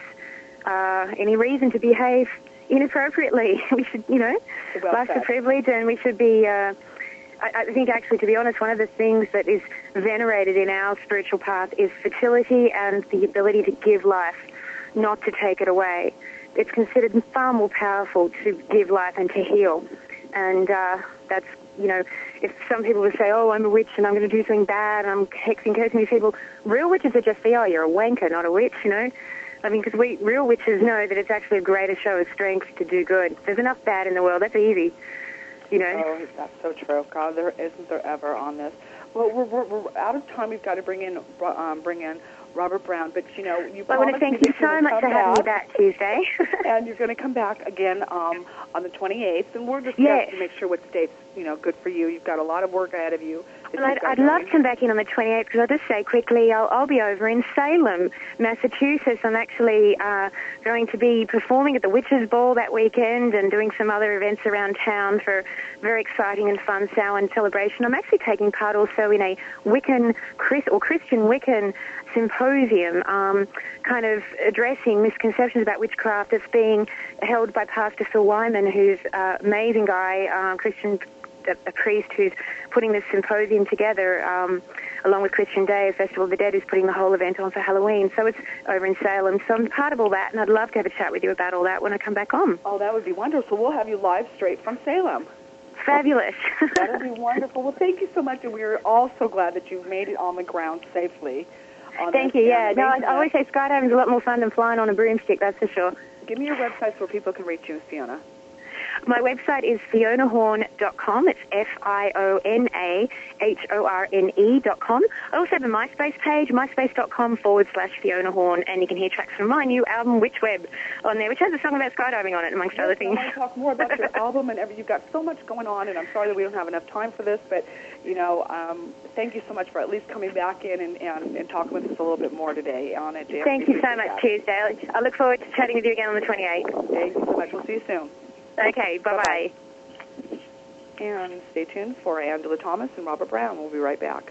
uh, any reason to behave inappropriately. We should, you know, well life's said. a privilege, and we should be, uh, I, I think actually, to be honest, one of the things that is venerated in our spiritual path is fertility and the ability to give life, not to take it away. It's considered far more powerful to give life and to heal. And uh, that's, you know, if some people would say, oh, I'm a witch and I'm going to do something bad and I'm hexing, cursing these people, real witches are just the, oh, you're a wanker, not a witch, you know. I mean, because we real witches know that it's actually a greater show of strength to do good. There's enough bad in the world. That's easy, you know. Oh, that's so true. God, there isn't there ever on this. Well, we're, we're, we're out of time. We've got to bring in um, bring in Robert Brown. But, you know, you well, I want to thank you so much for having me back Tuesday. And you're going to come back again um, on the twenty-eighth. And we're just yes. to make sure what state's, you know, good for you. You've got a lot of work ahead of you. Well, I'd, I'd love to come back in on the twenty-eighth, because I'll just say quickly, I'll, I'll be over in Salem, Massachusetts. I'm actually uh, going to be performing at the Witches' Ball that weekend and doing some other events around town for very exciting and fun Samhain celebration. I'm actually taking part also in a Wiccan, Chris, or Christian Wiccan symposium, um, kind of addressing misconceptions about witchcraft that's being held by Pastor Phil Wyman, who's an amazing guy, uh, Christian A, a priest who's putting this symposium together, um, along with Christian Day, Festival of the Dead, who's putting the whole event on for Halloween. So it's over in Salem. So I'm part of all that, and I'd love to have a chat with you about all that when I come back on. Oh, that would be wonderful. So we'll have you live straight from Salem. Fabulous. That would be wonderful. Well, thank you so much, and we're all so glad that you made it on the ground safely. Thank you, yeah. No, I always say skydiving's a lot more fun than flying on a broomstick, that's for sure. Give me your website so people can reach you, Fiona. My website is fiona horn dot com. It's F I O N A H O R N E dot com. I also have a MySpace page, myspace.com forward slash Fiona Horn, and you can hear tracks from my new album, Witch Web, on there, which has a song about skydiving on it, amongst yes, other things. I want to talk more about your album and everything. You've got so much going on, and I'm sorry that we don't have enough time for this, but, you know, um, thank you so much for at least coming back in and, and, and talking with us a little bit more today on it. Thank you so much, that. Tuesday. I look forward to chatting with you again on the twenty-eighth. Thank you so much. We'll see you soon. Okay, bye-bye. Bye-bye. And stay tuned for Angela Thomas and Robert Brown. We'll be right back.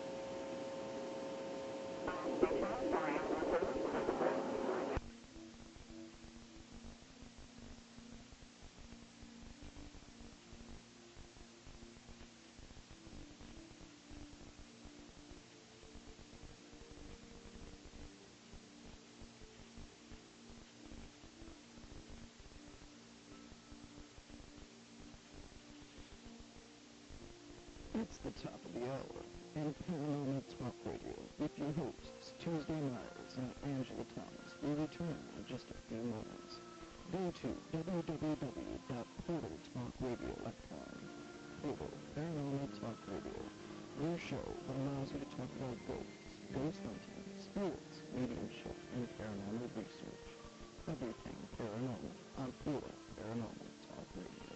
It's the top of the hour, and Paranormal Talk Radio with your hosts, Tuesday Myers and Angela Thomas, will return in just a few moments. Go to w w w dot portal talk radio dot com. Portal Paranormal Talk Radio, your show that allows you to talk about ghosts, ghost hunting, spirits, mediumship, and paranormal research. Everything paranormal on Portal Paranormal Talk Radio.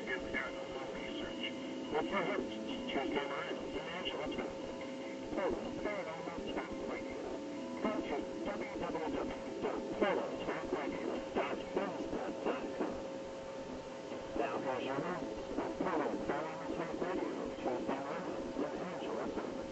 With your hosts, Tuesday Miles and Angela Thomas. Portal Paranormal Talk Radio. Go to w w w dot portal talk radio dot blogspot dot com. Now here's your host of Portal Paranormal Talk Radio, Tuesday Miles and Angela Thomas.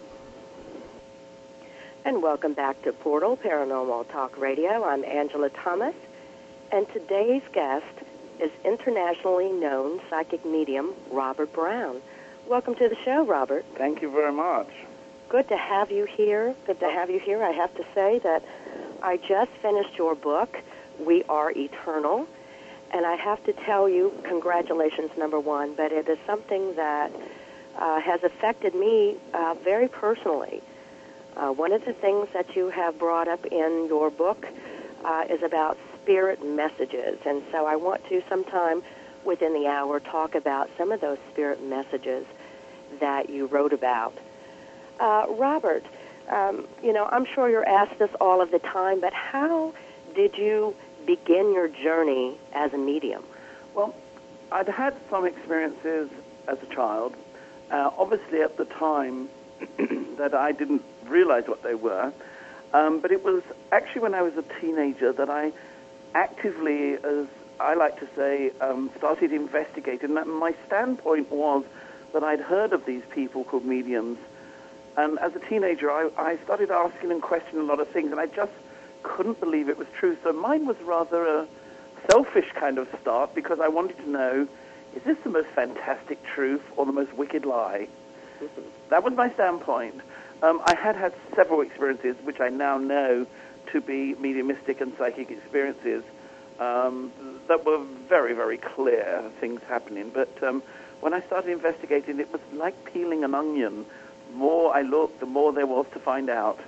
And welcome back to Portal Paranormal Talk Radio. I'm Angela Thomas, and today's guest is internationally known psychic medium Robert Brown. Welcome to the show, Robert. Thank you very much. Good to have you here. Good to have you here. I have to say that I just finished your book, We Are Eternal, and I have to tell you, congratulations, number one, but it is something that uh, has affected me uh, very personally. Uh, one of the things that you have brought up in your book uh, is about spirit messages, and so I want to sometime within the hour talk about some of those spirit messages that you wrote about. Uh, Robert, um, you know, I'm sure you're asked this all of the time, but how did you begin your journey as a medium? Well, I'd had some experiences as a child. Uh, obviously, at the time that I didn't realize what they were, um, but it was actually when I was a teenager that I actively, as I like to say, um, started investigating. And my standpoint was that I'd heard of these people called mediums. And as a teenager, I, I started asking and questioning a lot of things, and I just couldn't believe it was true. So mine was rather a selfish kind of start, because I wanted to know, is this the most fantastic truth or the most wicked lie? Mm-hmm. That was my standpoint. Um, I had had several experiences, which I now know to be mediumistic and psychic experiences, um, that were very, very clear things happening. But um, when I started investigating, it was like peeling an onion. The more I looked, the more there was to find out.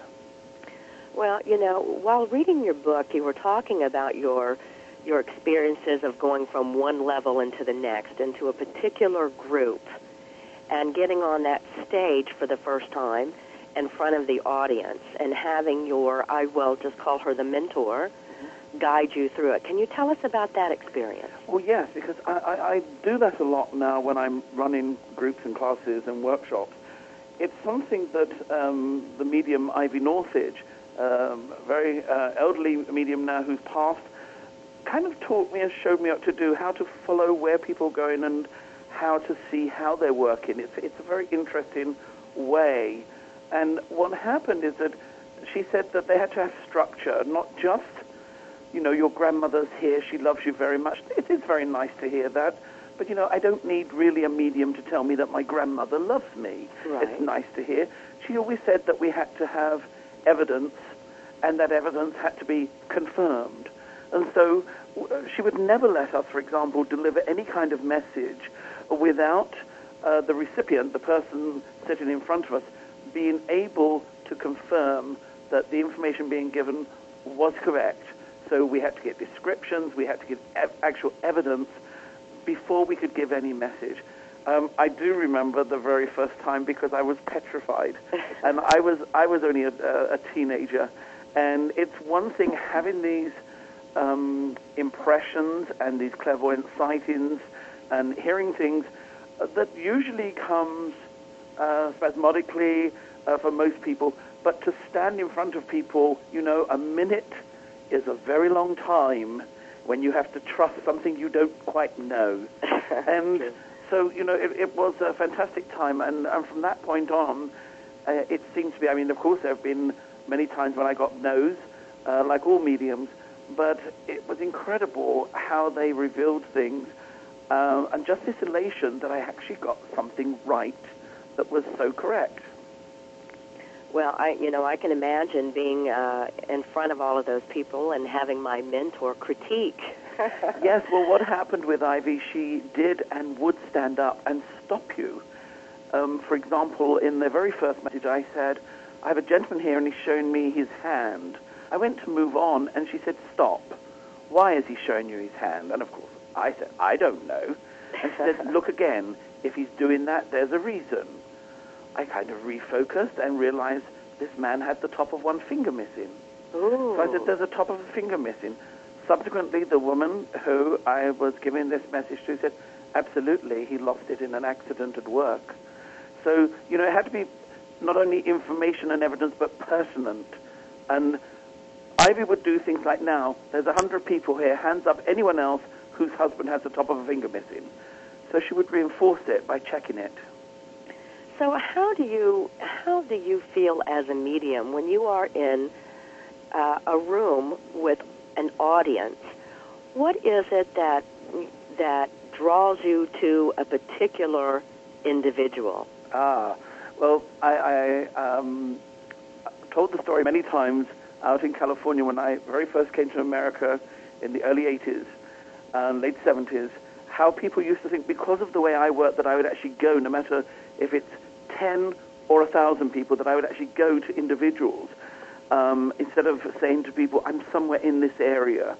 Well, you know, while reading your book, you were talking about your your experiences of going from one level into the next, into a particular group, and getting on that stage for the first time in front of the audience, and having your, I will just call her the mentor, guide you through it. Can you tell us about that experience? Well, yes, because I, I, I do that a lot now when I'm running groups and classes and workshops. It's something that um, the medium Ivy Northridge, um, a very uh, elderly medium now who's passed, kind of taught me and showed me what to do, how to follow where people are going and how to see how they're working. It's, it's a very interesting way. And what happened is that she said that they had to have structure, not just, you know, your grandmother's here, she loves you very much. It is very nice to hear that. But, you know, I don't need really a medium to tell me that my grandmother loves me. Right. It's nice to hear. She always said that we had to have evidence, and that evidence had to be confirmed. And so she would never let us, for example, deliver any kind of message without uh, the recipient, the person sitting in front of us, being able to confirm that the information being given was correct. So we had to get descriptions, we had to get ev- actual evidence before we could give any message. Um, I do remember the very first time, because I was petrified, and I was I was only a, a teenager, and it's one thing having these um, impressions and these clairvoyant sightings and hearing things that usually comes uh, spasmodically uh, for most people, but to stand in front of people, you know, a minute is a very long time when you have to trust something you don't quite know. And so, you know, it, it was a fantastic time, and, and from that point on, uh, it seems to be, I mean, of course, there have been many times when I got no's, uh, like all mediums, but it was incredible how they revealed things, uh, and just this elation that I actually got something right that was so correct. Well, I, you know, I can imagine being uh, in front of all of those people and having my mentor critique. Yes, well, what happened with Ivy, she did and would stand up and stop you. Um, for example, in the very first message, I said, I have a gentleman here and he's showing me his hand. I went to move on and she said, stop. Why is he showing you his hand? And of course, I said, I don't know. And she said, look again. If he's doing that, there's a reason. I kind of refocused and realized this man had the top of one finger missing. Ooh. So I said, there's a top of a finger missing. Subsequently, the woman who I was giving this message to said, absolutely, he lost it in an accident at work. So, you know, it had to be not only information and evidence, but pertinent. And Ivy would do things like, now, there's a hundred people here, hands up, anyone else whose husband has the top of a finger missing. So she would reinforce it by checking it. So how do you how do you feel as a medium when you are in uh, a room with an audience? What is it that that draws you to a particular individual? Ah, well, I, I um, told the story many times out in California when I very first came to America in the early eighties, um, late seventies, how people used to think because of the way I work that I would actually go, no matter if it's ten or a thousand people, that I would actually go to individuals um, instead of saying to people, I'm somewhere in this area.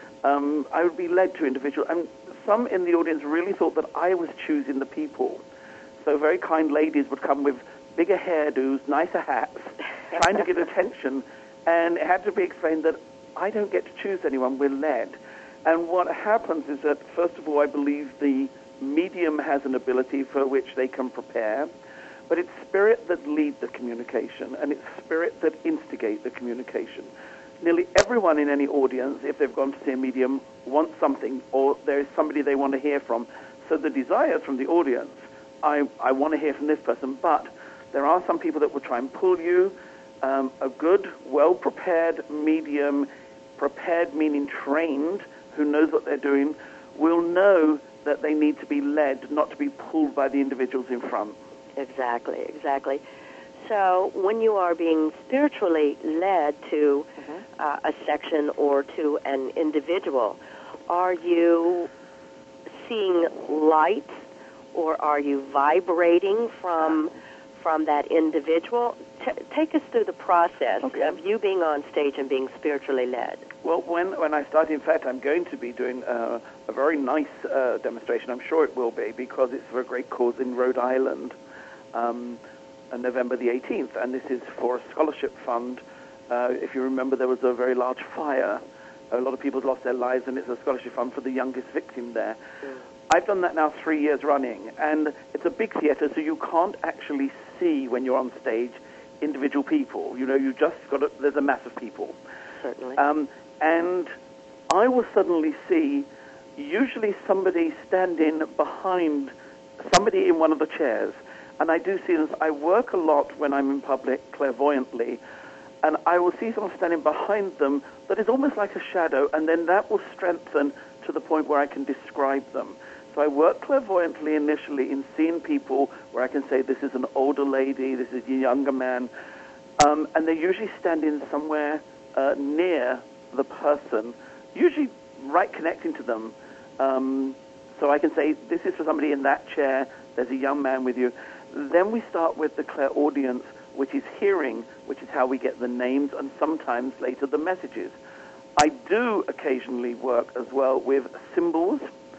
Um, I would be led to individuals. And some in the audience really thought that I was choosing the people. So very kind ladies would come with bigger hairdos, nicer hats, trying to get attention. And it had to be explained that I don't get to choose anyone, we're led. And what happens is that, first of all, I believe the medium has an ability for which they can prepare, but it's spirit that lead the communication, and it's spirit that instigate the communication. Nearly everyone in any audience, if they've gone to see a medium, wants something, or there is somebody they want to hear from. So the desires from the audience, I, I want to hear from this person, but there are some people that will try and pull you. Um, a good, well-prepared medium, prepared meaning trained, who knows what they're doing, will know that they need to be led, not to be pulled by the individuals in front. Exactly, exactly. So when you are being spiritually led to mm-hmm. uh, a section or to an individual, are you seeing light, or are you vibrating from from that individual? T- take us through the process okay. of you being on stage and being spiritually led. Well, when, when I start, in fact, I'm going to be doing uh, a very nice uh, demonstration. I'm sure it will be, because it's for a great cause in Rhode Island um, on November the eighteenth, and this is for a scholarship fund. Uh, if you remember, there was a very large fire. A lot of people lost their lives, and it's a scholarship fund for the youngest victim there. Mm. I've done that now three years running, and it's a big theater, so you can't actually see when you're on stage individual people. You know, you just got to, there's a mass of people. Certainly. Um, and I will suddenly see usually somebody standing behind somebody in one of the chairs. And I do see this. I work a lot when I'm in public clairvoyantly, and I will see someone standing behind them that is almost like a shadow, and then that will strengthen to the point where I can describe them. So I work clairvoyantly initially in seeing people where I can say, this is an older lady, this is a younger man, um, and they're usually standing somewhere uh, near the person, usually right connecting to them. Um, so I can say, this is for somebody in that chair, there's a young man with you. Then we start with the clairaudience, which is hearing, which is how we get the names and sometimes later the messages. I do occasionally work as well with symbols,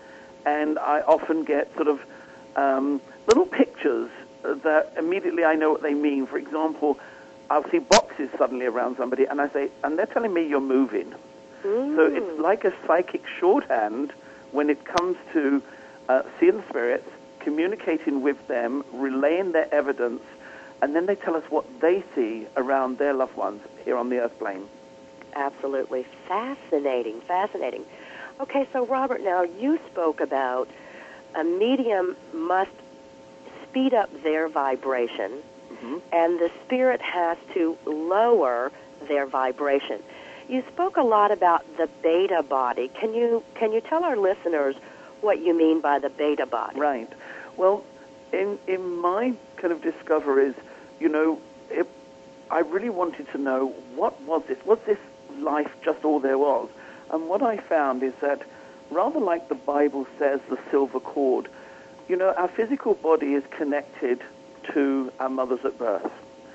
and I often get sort of um, little pictures that immediately I know what they mean. For example, I'll see boxes suddenly around somebody, and I say, and they're telling me you're moving. Mm. So it's like a psychic shorthand when it comes to uh, seeing spirits, communicating with them, relaying their evidence, and then they tell us what they see around their loved ones here on the earth plane. Absolutely. Fascinating, fascinating. Okay, so Robert, now you spoke about a medium must speed up their vibration, mm-hmm. and the spirit has to lower their vibration. You spoke a lot about the beta body. Can you can you tell our listeners what you mean by the beta body? Right. Well, in in my kind of discoveries, you know, it, I really wanted to know, what was this? Was this life just all there was? And what I found is that, rather like the Bible says, the silver cord, you know, our physical body is connected to our mothers at birth.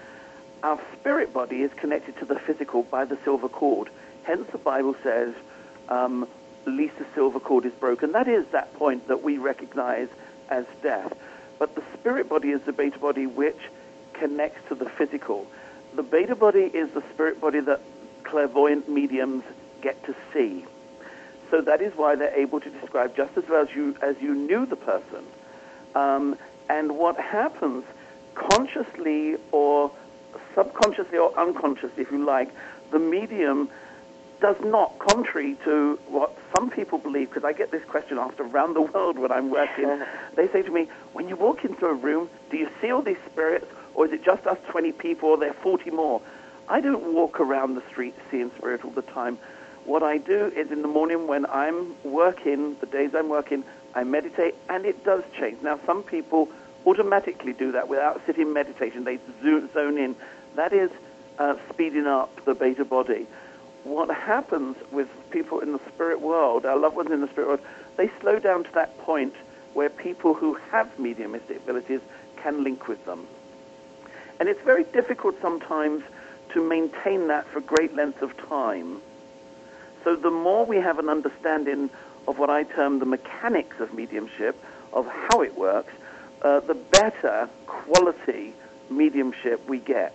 Our spirit body is connected to the physical by the silver cord. Hence the Bible says, um, least the silver cord is broken. That is that point that we recognize as death. But the spirit body is the beta body which connects to the physical. The beta body is the spirit body that clairvoyant mediums get to see. so that is why they're able to describe just as well as you, as you knew the person. Um, and what happens, consciously or subconsciously or unconsciously, if you like, the medium does not, contrary to what some people believe, because I get this question asked around the world when I'm working. They say to me, when you walk into a room, do you see all these spirits, or is it just us twenty people, or there are forty more? I don't walk around the street seeing spirit all the time. What I do is in the morning when I'm working, the days I'm working, I meditate, and it does change. Now, some people automatically do that without sitting meditation. They zone in. That is uh, speeding up the beta body. What happens with people in the spirit world, our loved ones in the spirit world, they slow down to that point where people who have mediumistic abilities can link with them. And it's very difficult sometimes to maintain that for great lengths of time. So the more we have an understanding of what I term the mechanics of mediumship, of how it works, uh, the better quality mediumship we get.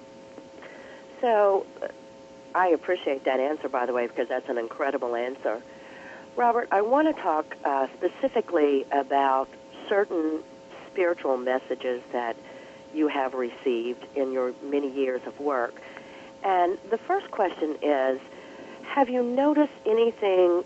So I appreciate that answer, by the way, because that's an incredible answer. Robert, I want to talk uh, specifically about certain spiritual messages that you have received in your many years of work. And the first question is, have you noticed anything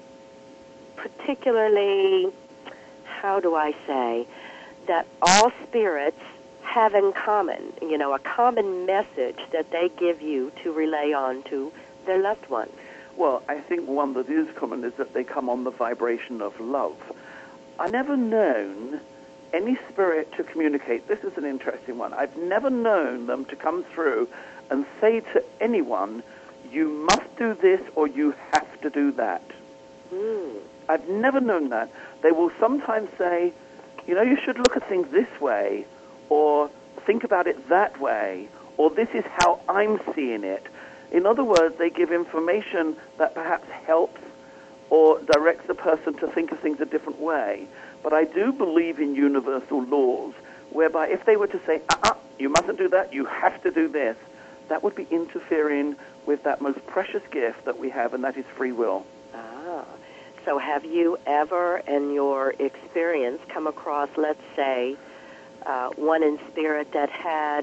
particularly, how do I say, that all spirits have in common, you know, a common message that they give you to relay on to their loved ones? Well, I think one that is common is that they come on the vibration of love. I've never known any spirit to communicate. This is an interesting one. I've never known them to come through and say to anyone, you must do this or you have to do that. Mm. I've never known that. They will sometimes say, you know, you should look at things this way, or think about it that way, or this is how I'm seeing it. In other words, they give information that perhaps helps or directs the person to think of things a different way. But I do believe in universal laws, whereby if they were to say, uh-uh, you mustn't do that, you have to do this, that would be interfering with that most precious gift that we have, and that is free will. Ah. So have you ever, in your experience, come across, let's say, uh, one in spirit that had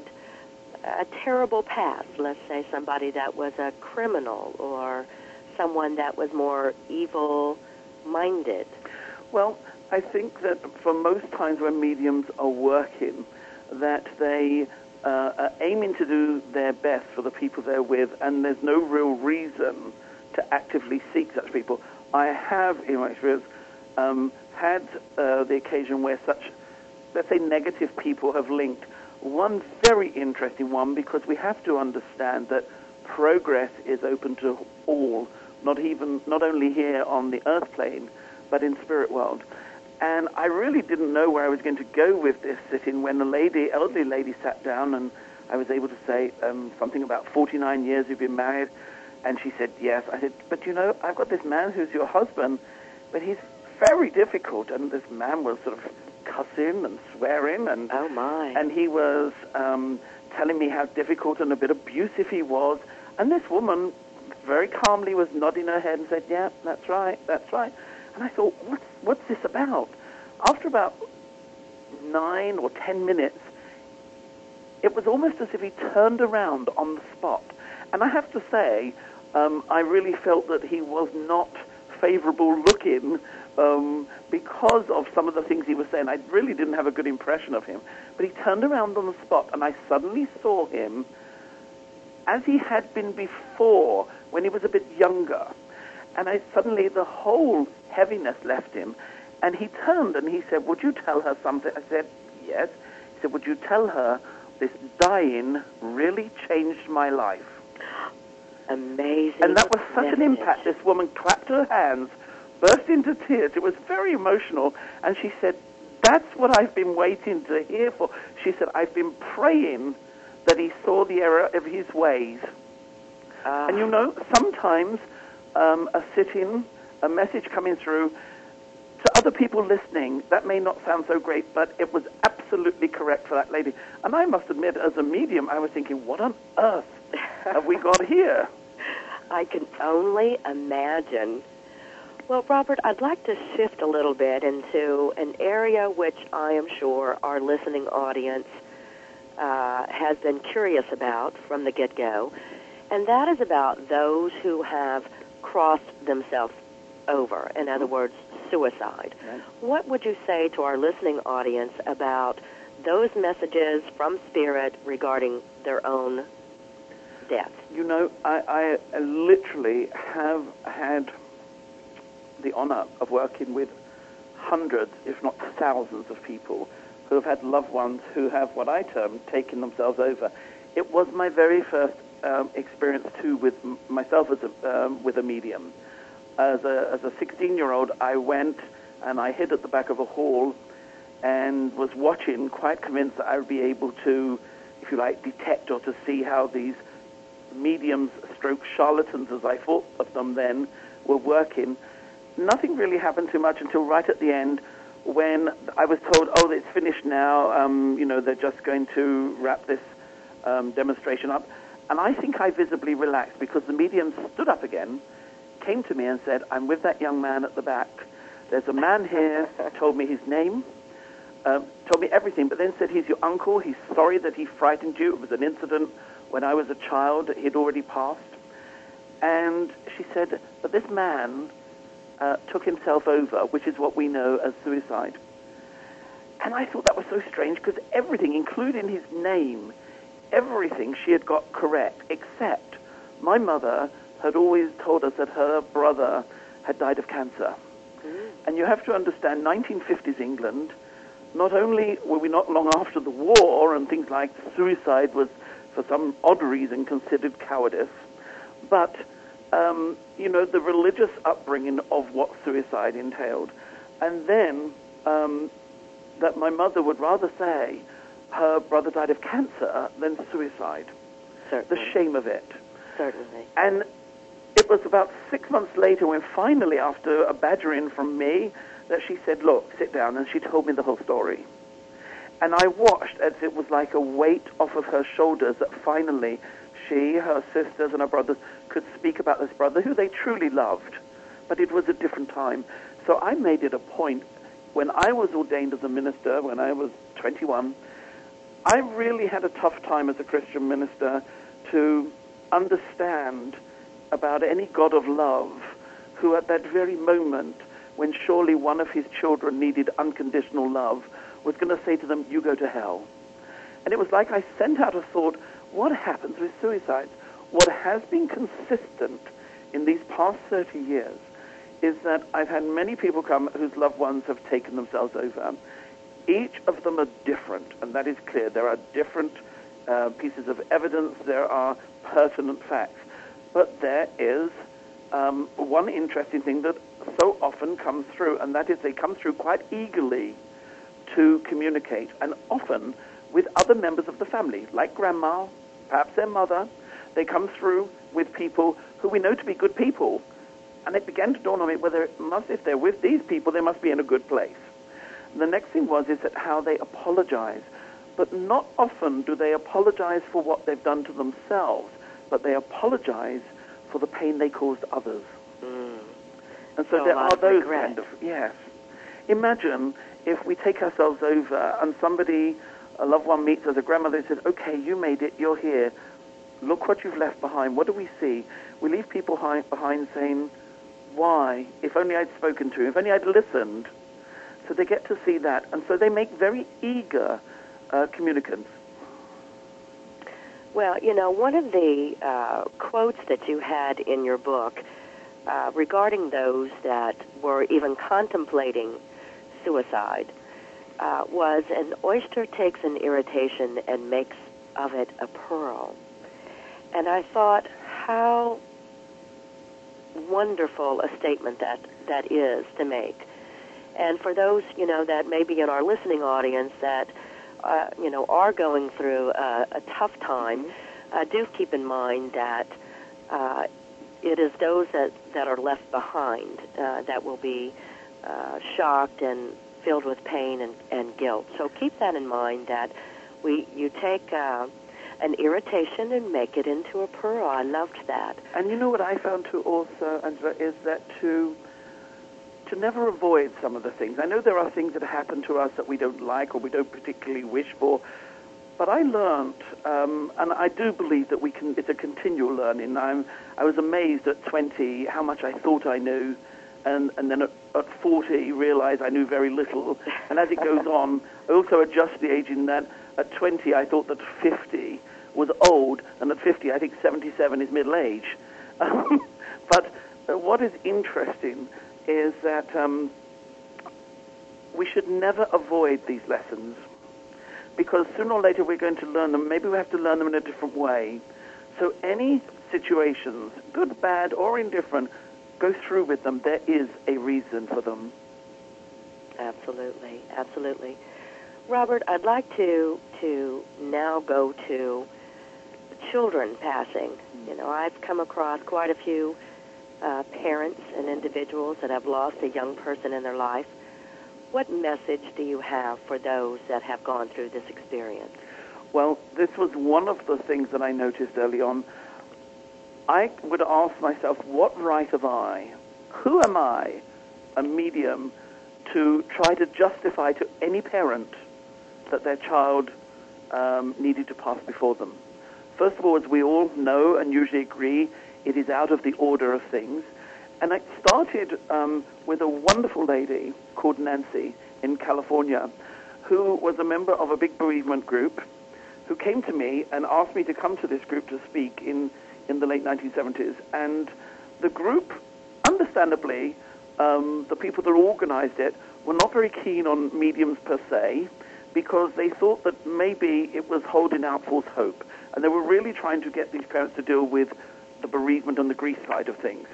a terrible past? Let's say somebody that was a criminal or someone that was more evil-minded. Well, I think that for most times when mediums are working, that they uh, are aiming to do their best for the people they're with, and there's no real reason to actively seek such people. I have, in my experience, um, had uh, the occasion where such, let's say, negative people have linked. One very interesting one, because we have to understand that progress is open to all, not even, not only here on the earth plane, but in spirit world. And I really didn't know where I was going to go with this sitting when the lady, elderly lady, sat down, and I was able to say um, something about forty-nine years you've been married. And she said, yes. I said, but you know, I've got this man who's your husband, but he's very difficult. And this man was sort of cussing and swearing. And, oh, my. And he was um, telling me how difficult and a bit abusive he was. And this woman very calmly was nodding her head and said, yeah, that's right, that's right. And I thought, what's, what's this about? After about nine or ten minutes, it was almost as if he turned around on the spot. And I have to say, um, I really felt that he was not favorable looking um, because of some of the things he was saying. I really didn't have a good impression of him. But he turned around on the spot, and I suddenly saw him as he had been before when he was a bit younger. And I suddenly, the whole heaviness left him. And he turned and he said, would you tell her something? I said, yes. He said, would you tell her this dying really changed my life? Amazing. And that was such message. an impact. This woman clapped her hands, burst into tears. It was very emotional. And she said, that's what I've been waiting to hear for. She said, I've been praying that he saw the error of his ways. Uh, and you know, sometimes um, a sitting, a message coming through, to other people listening, that may not sound so great, but it was absolutely correct for that lady. And I must admit, as a medium, I was thinking, what on earth have we got here? I can only imagine Well, Robert, I'd like to shift a little bit into an area which I am sure our listening audience uh, has been curious about from the get-go, and that is about those who have crossed themselves over, in other words, suicide. Right. What would you say to our listening audience about those messages from Spirit regarding their own death? You know, I, I literally have had the honor of working with hundreds, if not thousands, of people who have had loved ones who have what I term taken themselves over. It was my very first um, experience, too, with m- myself as a, um, with a medium. As a as a sixteen-year-old, I went and I hid at the back of a hall and was watching, quite convinced that I would be able to, if you like, detect or to see how these mediums, stroke charlatans, as I thought of them then, were working. Nothing really happened too much until right at the end, when I was told, oh, it's finished now, um, you know, they're just going to wrap this um, demonstration up. And I think I visibly relaxed, because the medium stood up again, came to me and said, I'm with that young man at the back. There's a man here, told me his name, uh, told me everything, but then said he's your uncle, he's sorry that he frightened you, it was an incident when I was a child, he'd already passed. And she said, but this man uh, took himself over, which is what we know as suicide. And I thought that was so strange, because everything, including his name, everything she had got correct, except my mother had always told us that her brother had died of cancer. Mm. And you have to understand, nineteen fifties England, not only were we not long after the war, and things like suicide was, for some odd reason, considered cowardice, but, um, you know, the religious upbringing of what suicide entailed. And then um, that my mother would rather say her brother died of cancer than suicide. Certainly. The shame of it. Certainly. And it was about six months later when finally, after a badgering from me, that she said, look, sit down, and she told me the whole story. And I watched as it was like a weight off of her shoulders that finally she, her sisters, and her brothers could speak about this brother who they truly loved. But it was a different time. So I made it a point, when I was ordained as a minister, when I was twenty-one, I really had a tough time as a Christian minister to understand about any God of love who at that very moment, when surely one of his children needed unconditional love, was going to say to them, you go to hell. And it was like I sent out a thought, what happens with suicides? What has been consistent in these past thirty years is that I've had many people come whose loved ones have taken themselves over. Each of them are different, and that is clear. There are different uh, pieces of evidence. There are pertinent facts. But there is um, one interesting thing that so often comes through, and that is they come through quite eagerly to communicate, and often with other members of the family, like grandma, perhaps their mother. They come through with people who we know to be good people. And it began to dawn on me whether it must, if they're with these people, they must be in a good place. The next thing was is that how they apologize. But not often do they apologize for what they've done to themselves, but they apologize for the pain they caused others. Mm. And so, so there are those regret. kind of, yes. Imagine if we take ourselves over and somebody, a loved one meets us, a grandmother, and says, okay, you made it, you're here. Look what you've left behind. What do we see? We leave people hi- behind saying, why? If only I'd spoken to him, if only I'd listened. So they get to see that. And so they make very eager uh, communicants. Well, you know, one of the uh, quotes that you had in your book uh, regarding those that were even contemplating suicide uh, was, an oyster takes an irritation and makes of it a pearl. And I thought, how wonderful a statement that, that is to make. And for those, you know, that may be in our listening audience that, uh, you know, are going through a, a tough time, uh, do keep in mind that uh, it is those that, that are left behind uh, that will be uh, shocked and filled with pain and, and guilt. So keep that in mind, that we you take uh, an irritation and make it into a pearl. I loved that. And you know what I found too also, Angela, is that to to never avoid some of the things. I know there are things that happen to us that we don't like or we don't particularly wish for, but I learned, um, and I do believe that we can. It's a continual learning. I'm, I was amazed at twenty how much I thought I knew, and, and then at, at forty realized I knew very little. And as it goes on, I also adjust the age in that at twenty I thought that fifty was old, and at fifty I think seventy-seven is middle age. Um, but uh, what is interesting is that um, we should never avoid these lessons, because sooner or later we're going to learn them. Maybe we have to learn them in a different way. So any situations, good, bad, or indifferent, go through with them. There is a reason for them. Absolutely, absolutely. Robert, I'd like to to now go to children passing. You know, I've come across quite a few uh, parents and individuals that have lost a young person in their life. What message do you have for those that have gone through this experience? Well, this was one of the things that I noticed early on. I would ask myself, what right have I? Who am I, a medium, to try to justify to any parent that their child um, needed to pass before them? First of all, as we all know and usually agree, it is out of the order of things. And it started um, with a wonderful lady called Nancy in California, who was a member of a big bereavement group, who came to me and asked me to come to this group to speak in, in the late nineteen seventies. And the group, understandably, um, the people that organized it were not very keen on mediums per se, because they thought that maybe it was holding out false hope. And they were really trying to get these parents to deal with the bereavement and the grief side of things.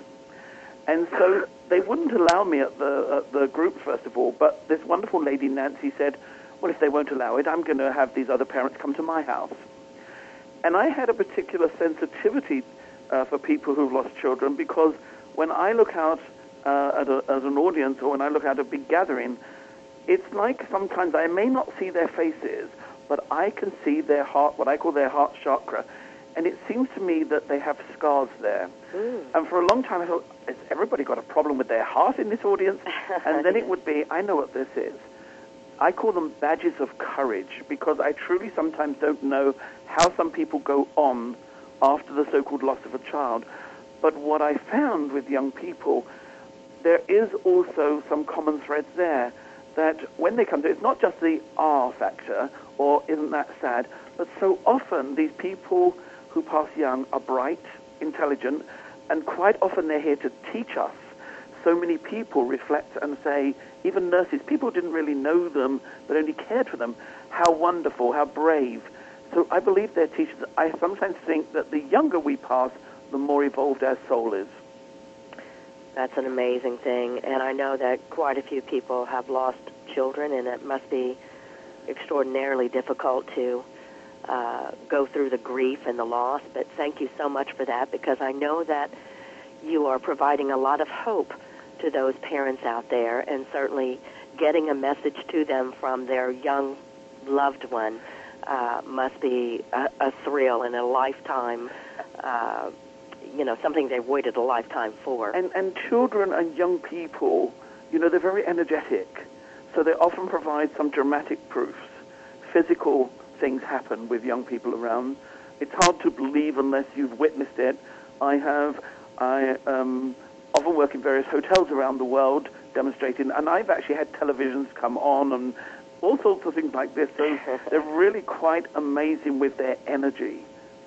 And so they wouldn't allow me at the, at the group, first of all, but this wonderful lady, Nancy, said, well, if they won't allow it, I'm going to have these other parents come to my house. And I had a particular sensitivity uh, for people who've lost children, because when I look out uh, at, a, at an audience, or when I look at a big gathering, it's like sometimes I may not see their faces, but I can see their heart, what I call their heart chakra. And it seems to me that they have scars there. Mm. And for a long time I thought, has everybody got a problem with their heart in this audience? And then it would be, I know what this is. I call them badges of courage, because I truly sometimes don't know how some people go on after the so-called loss of a child. But what I found with young people, there is also some common threads there, that when they come to it, it's not just the ah factor, or isn't that sad, but so often these people who pass young are bright, intelligent, and quite often they're here to teach us. So many people reflect and say, even nurses, people didn't really know them, but only cared for them, how wonderful, how brave. So I believe they're teachers. I sometimes think that the younger we pass, the more evolved our soul is. That's an amazing thing, and I know that quite a few people have lost children, and it must be extraordinarily difficult to uh, go through the grief and the loss, but thank you so much for that, because I know that you are providing a lot of hope to those parents out there, and certainly getting a message to them from their young loved one uh, must be a, a thrill and a lifetime, uh, you know, something they've waited a lifetime for. And, and children and young people, you know, they're very energetic, so they often provide some dramatic proofs. Physical things happen with young people around. It's hard to believe unless you've witnessed it. I have, I um, often work in various hotels around the world demonstrating, and I've actually had televisions come on and all sorts of things like this, so they're really quite amazing with their energy.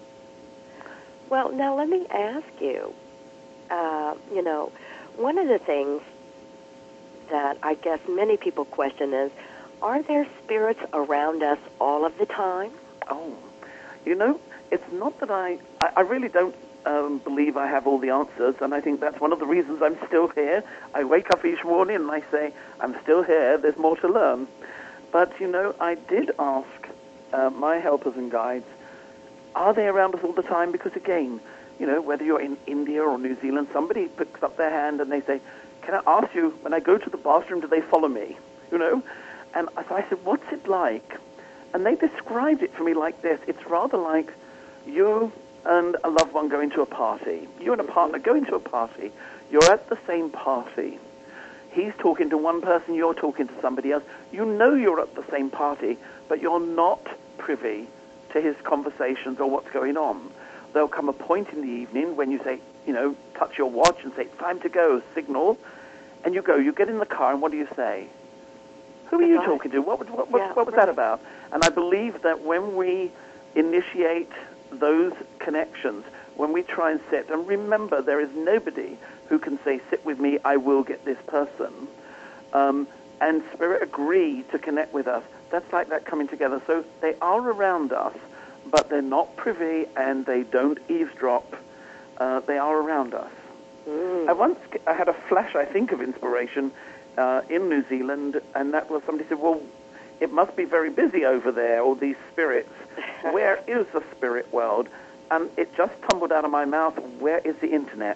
Well, now let me ask you, uh, you know, one of the things that I guess many people question is, are there spirits around us all of the time? Oh, you know, it's not that I, I, I really don't um, believe I have all the answers, and I think that's one of the reasons I'm still here. I wake up each morning and I say, I'm still here, there's more to learn. But, you know, I did ask uh, my helpers and guides, are they around us all the time? Because, again, you know, whether you're in India or New Zealand, somebody picks up their hand and they say, can I ask you, when I go to the bathroom, do they follow me? You know? And so I said, what's it like? And they described it for me like this. It's rather like you and a loved one going to a party. You and a partner going to a party. You're at the same party. he's talking to one person, you're talking to somebody else. You know you're at the same party, but you're not privy to his conversations or what's going on. There'll come a point in the evening when you say, you know, touch your watch and say, time to go, signal, and you go, you get in the car, and what do you say? Who are you Right. talking to? What, what, what, Yeah, what was right. that about? And I believe that when we initiate those connections, when we try and sit, and remember, there is nobody who can say, sit with me, I will get this person, um, and Spirit agree to connect with us. That's like that coming together. So they are around us, but they're not privy and they don't eavesdrop. Uh, they are around us. Mm. I once I had a flash, I think, of inspiration uh, in New Zealand, and that was somebody said, well, it must be very busy over there, all these spirits. Where is the spirit world? And it just tumbled out of my mouth, where is the internet?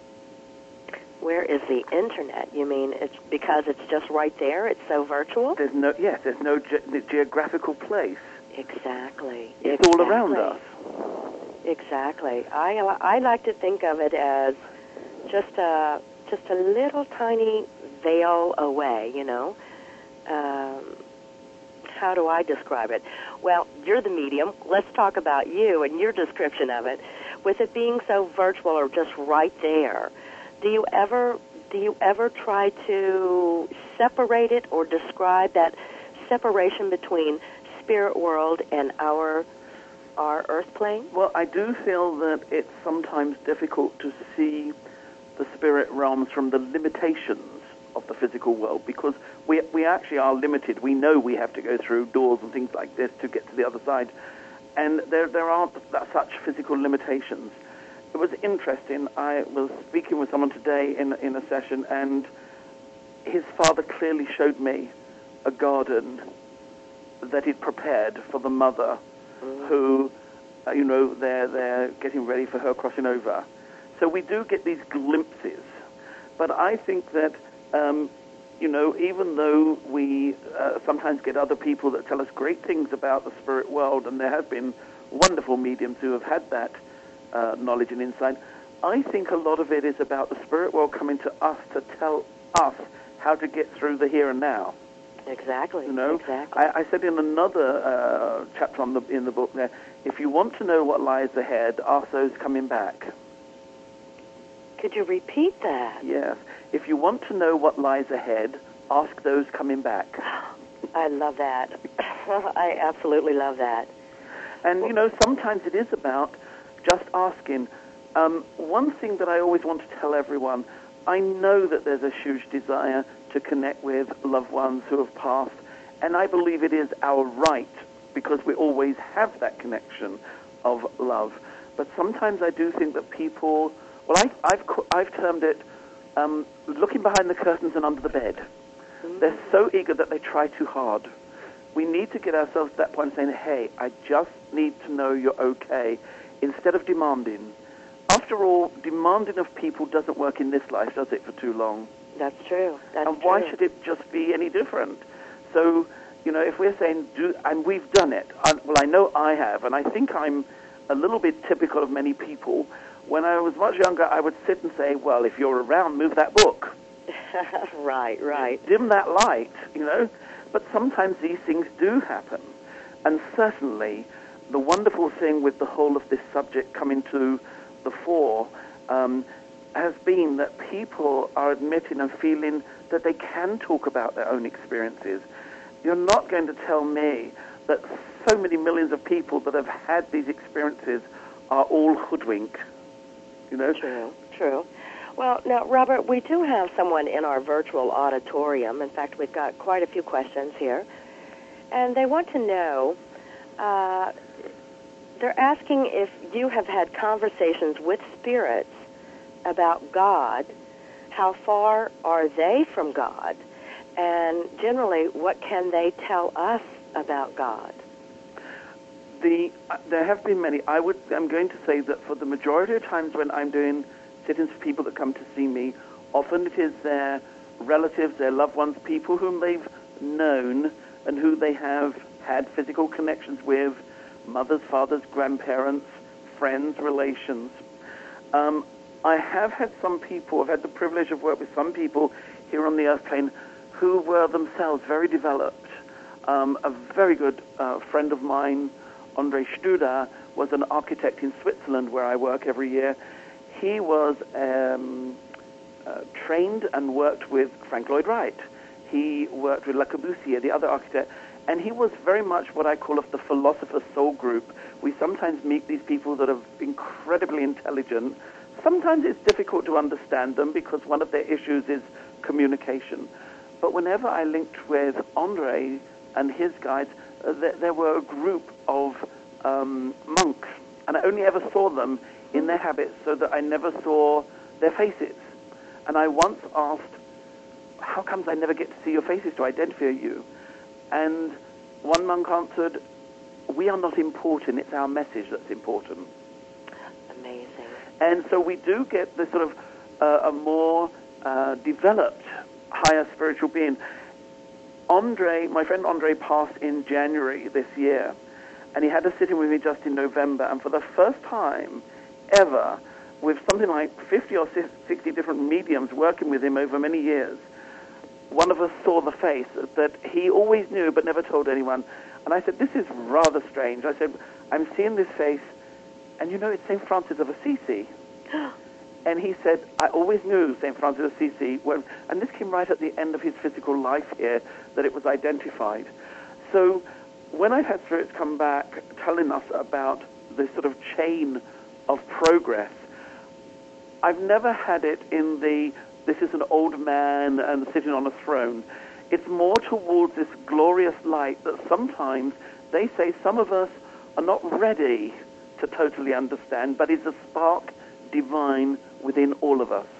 Where is the internet? You mean it's because it's just right there? It's so virtual? There's no, yes, there's no ge- geographical place. Exactly. It's exactly. all around us. Exactly. I I like to think of it as just a just a little tiny veil away. You know. Um, how do I describe it? Well, you're the medium. Let's talk about you and your description of it. With it being so virtual or just right there, do you ever do you ever try to separate it or describe that separation between spirit world and our our earth plane? Well, I do feel that it's sometimes difficult to see the spirit realms from the limitations of the physical world, because we we actually are limited. We know we have to go through doors and things like this to get to the other side, and there there aren't such physical limitations. It was interesting. I was speaking with someone today in in a session, and his father clearly showed me a garden that he'd prepared for the mother, mm. who, uh, you know, they're they're getting ready for her crossing over. So we do get these glimpses, but I think that. Um, you know, even though we uh, sometimes get other people that tell us great things about the spirit world, and there have been wonderful mediums who have had that uh, knowledge and insight, I think a lot of it is about the spirit world coming to us to tell us how to get through the here and now. Exactly. You know, exactly. I, I said in another uh, chapter on the, in the book there, if you want to know what lies ahead, ask those coming back. Could you repeat that? Yes. If you want to know what lies ahead, ask those coming back. I love that. I absolutely love that. And, you know, sometimes it is about just asking. Um, one thing that I always want to tell everyone, I know that there's a huge desire to connect with loved ones who have passed, and I believe it is our right, because we always have that connection of love. But sometimes I do think that people... Well, I, I've I've termed it um, looking behind the curtains and under the bed. Mm-hmm. They're so eager that they try too hard. We need to get ourselves to that point of saying, hey, I just need to know you're okay, instead of demanding. After all, demanding of people doesn't work in this life, does it, for too long? That's true. That's and why true. should it just be any different? So, you know, if we're saying, do, and we've done it, I, well, I know I have, and I think I'm a little bit typical of many people. When I was much younger, I would sit and say, well, if you're around, move that book. Right, right. Dim that light, you know. But sometimes these things do happen. And certainly, the wonderful thing with the whole of this subject coming to the fore um, has been that people are admitting and feeling that they can talk about their own experiences. You're not going to tell me that so many millions of people that have had these experiences are all hoodwinked. You know? True, true. Well, now, Robert, we do have someone in our virtual auditorium. In fact, we've got quite a few questions here. And they want to know, uh, they're asking if you have had conversations with spirits about God. How far are they from God? And generally, what can they tell us about God? The, uh, there have been many. I would, I'm going to say that for the majority of times when I'm doing sit-ins for people that come to see me, often it is their relatives, their loved ones, people whom they've known and who they have had physical connections with, mothers, fathers, grandparents, friends, relations. Um, I have had some people, I've had the privilege of working with some people here on the earth plane who were themselves very developed. Um, a very good uh, friend of mine, Andre Studer, was an architect in Switzerland where I work every year. He was um, uh, trained and worked with Frank Lloyd Wright. He worked with Le Corbusier, the other architect, and he was very much what I call of the philosopher's soul group. We sometimes meet these people that are incredibly intelligent. Sometimes it's difficult to understand them because one of their issues is communication. But whenever I linked with Andre and his guides, uh, there, there were a group of um, monks, and I only ever saw them in their habits so that I never saw their faces. And I once asked, how comes I never get to see your faces to identify you? And one monk answered, we are not important, it's our message that's important. Amazing. And so we do get this sort of uh, a more uh, developed, higher spiritual being. Andre, my friend Andre passed in January this year, and he had a sitting with me just in November, and for the first time ever, with something like fifty or sixty different mediums working with him over many years, one of us saw the face that he always knew but never told anyone. And I said, this is rather strange. I said, I'm seeing this face, and you know, it's Saint Francis of Assisi. And he said, I always knew Saint Francis of Assisi, when, and this came right at the end of his physical life here, that it was identified. So when I've had spirits come back telling us about this sort of chain of progress, I've never had it in the, this is an old man and sitting on a throne. It's more towards this glorious light that sometimes they say some of us are not ready to totally understand, but is a spark divine within all of us.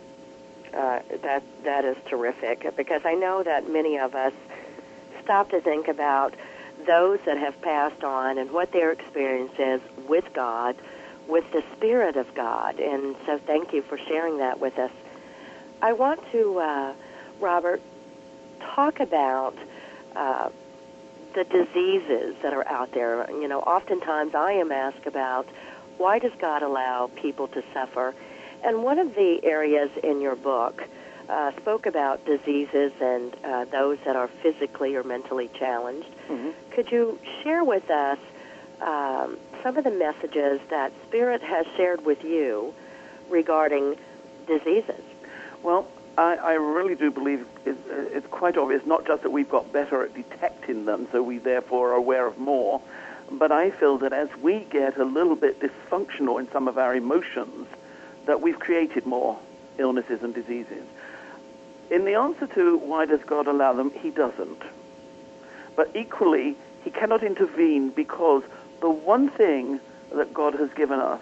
Uh, that that is terrific, because I know that many of us stop to think about those that have passed on and what their experience is with God, with the Spirit of God. And so thank you for sharing that with us. I want to, uh, Robert, talk about uh, the diseases that are out there. You know, oftentimes I am asked about, why does God allow people to suffer? And one of the areas in your book uh, spoke about diseases and uh, those that are physically or mentally challenged. Mm-hmm. Could you share with us um, some of the messages that Spirit has shared with you regarding diseases? Well, I, I really do believe it's, it's quite obvious, not just that we've got better at detecting them, so we therefore are aware of more, but I feel that as we get a little bit dysfunctional in some of our emotions, that we've created more illnesses and diseases. In the answer to why does God allow them, he doesn't. But equally, he cannot intervene because the one thing that God has given us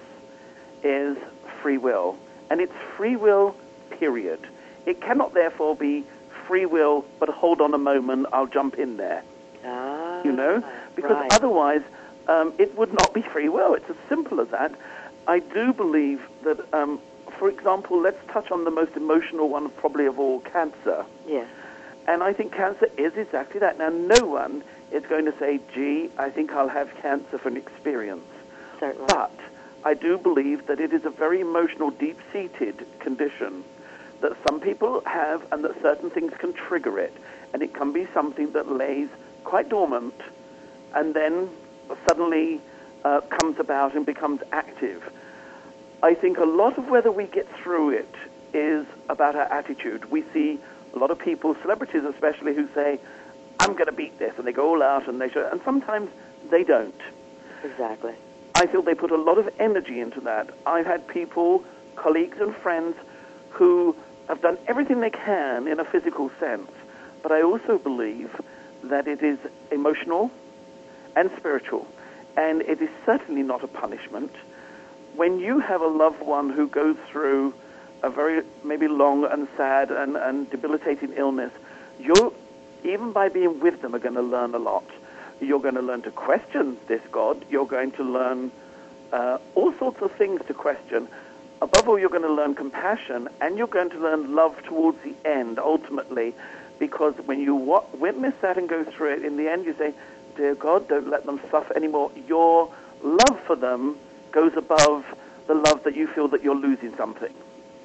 is free will. And it's free will, period. It cannot therefore be free will, but hold on a moment, I'll jump in there. Ah, you know? Because right. otherwise, um, it would not be free will. It's as simple as that. I do believe that, um, for example, let's touch on the most emotional one probably of all, cancer. Yes. And I think cancer is exactly that. Now, no one is going to say, gee, I think I'll have cancer for an experience. Certainly. But I do believe that it is a very emotional, deep-seated condition that some people have and that certain things can trigger it. And it can be something that lays quite dormant and then suddenly uh, comes about and becomes active. I think a lot of whether we get through it is about our attitude. We see a lot of people, celebrities especially, who say, I'm going to beat this, and they go all out and they show, and sometimes they don't. Exactly. I feel they put a lot of energy into that. I've had people, colleagues and friends, who have done everything they can in a physical sense, but I also believe that it is emotional and spiritual, and it is certainly not a punishment. When you have a loved one who goes through a very maybe long and sad and, and debilitating illness, you're, even by being with them, are going to learn a lot. You're going to learn to question this God. You're going to learn uh, all sorts of things to question. Above all, you're going to learn compassion, and you're going to learn love towards the end, ultimately, because when you wa- witness that and go through it, in the end you say, dear God, don't let them suffer anymore. Your love for them goes above the love that you feel that you're losing something.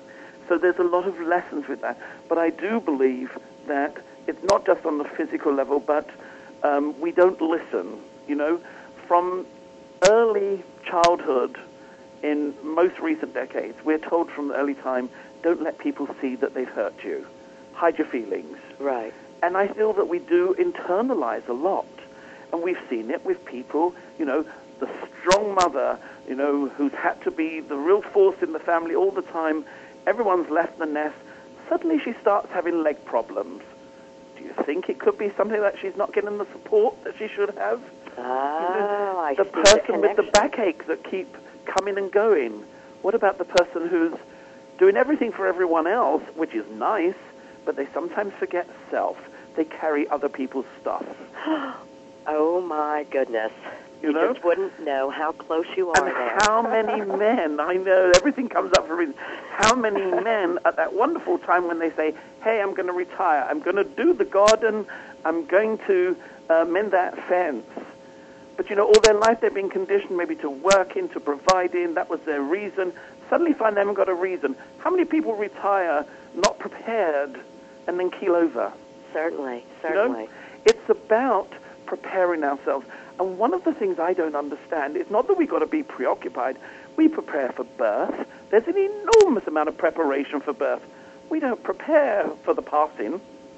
So there's a lot of lessons with that. But I do believe that it's not just on the physical level, but um, we don't listen. You know, from early childhood in most recent decades, we're told from the early time, don't let people see that they've hurt you. Hide your feelings. Right. And I feel that we do internalize a lot. And we've seen it with people, you know, the strong mother, you know, who's had to be the real force in the family all the time. Everyone's left the nest. Suddenly she starts having leg problems. Do you think it could be something that she's not getting the support that she should have? Oh, I the see person the with the connection. backache that keep coming and going. What about the person who's doing everything for everyone else, which is nice, but they sometimes forget self. They carry other people's stuff. Oh, my goodness. You You, know? just wouldn't know how close you are And there. how many men, I know everything comes up for a reason, how many men at that wonderful time when they say, hey, I'm going to retire, I'm going to do the garden, I'm going to uh, mend that fence. But, you know, all their life they've been conditioned maybe to work in, to provide in, that was their reason. Suddenly find they haven't got a reason. How many people retire not prepared and then keel over? Certainly, You certainly. know? It's about preparing ourselves. And one of the things I don't understand is not that we've got to be preoccupied. We prepare for birth. There's an enormous amount of preparation for birth. We don't prepare for the passing.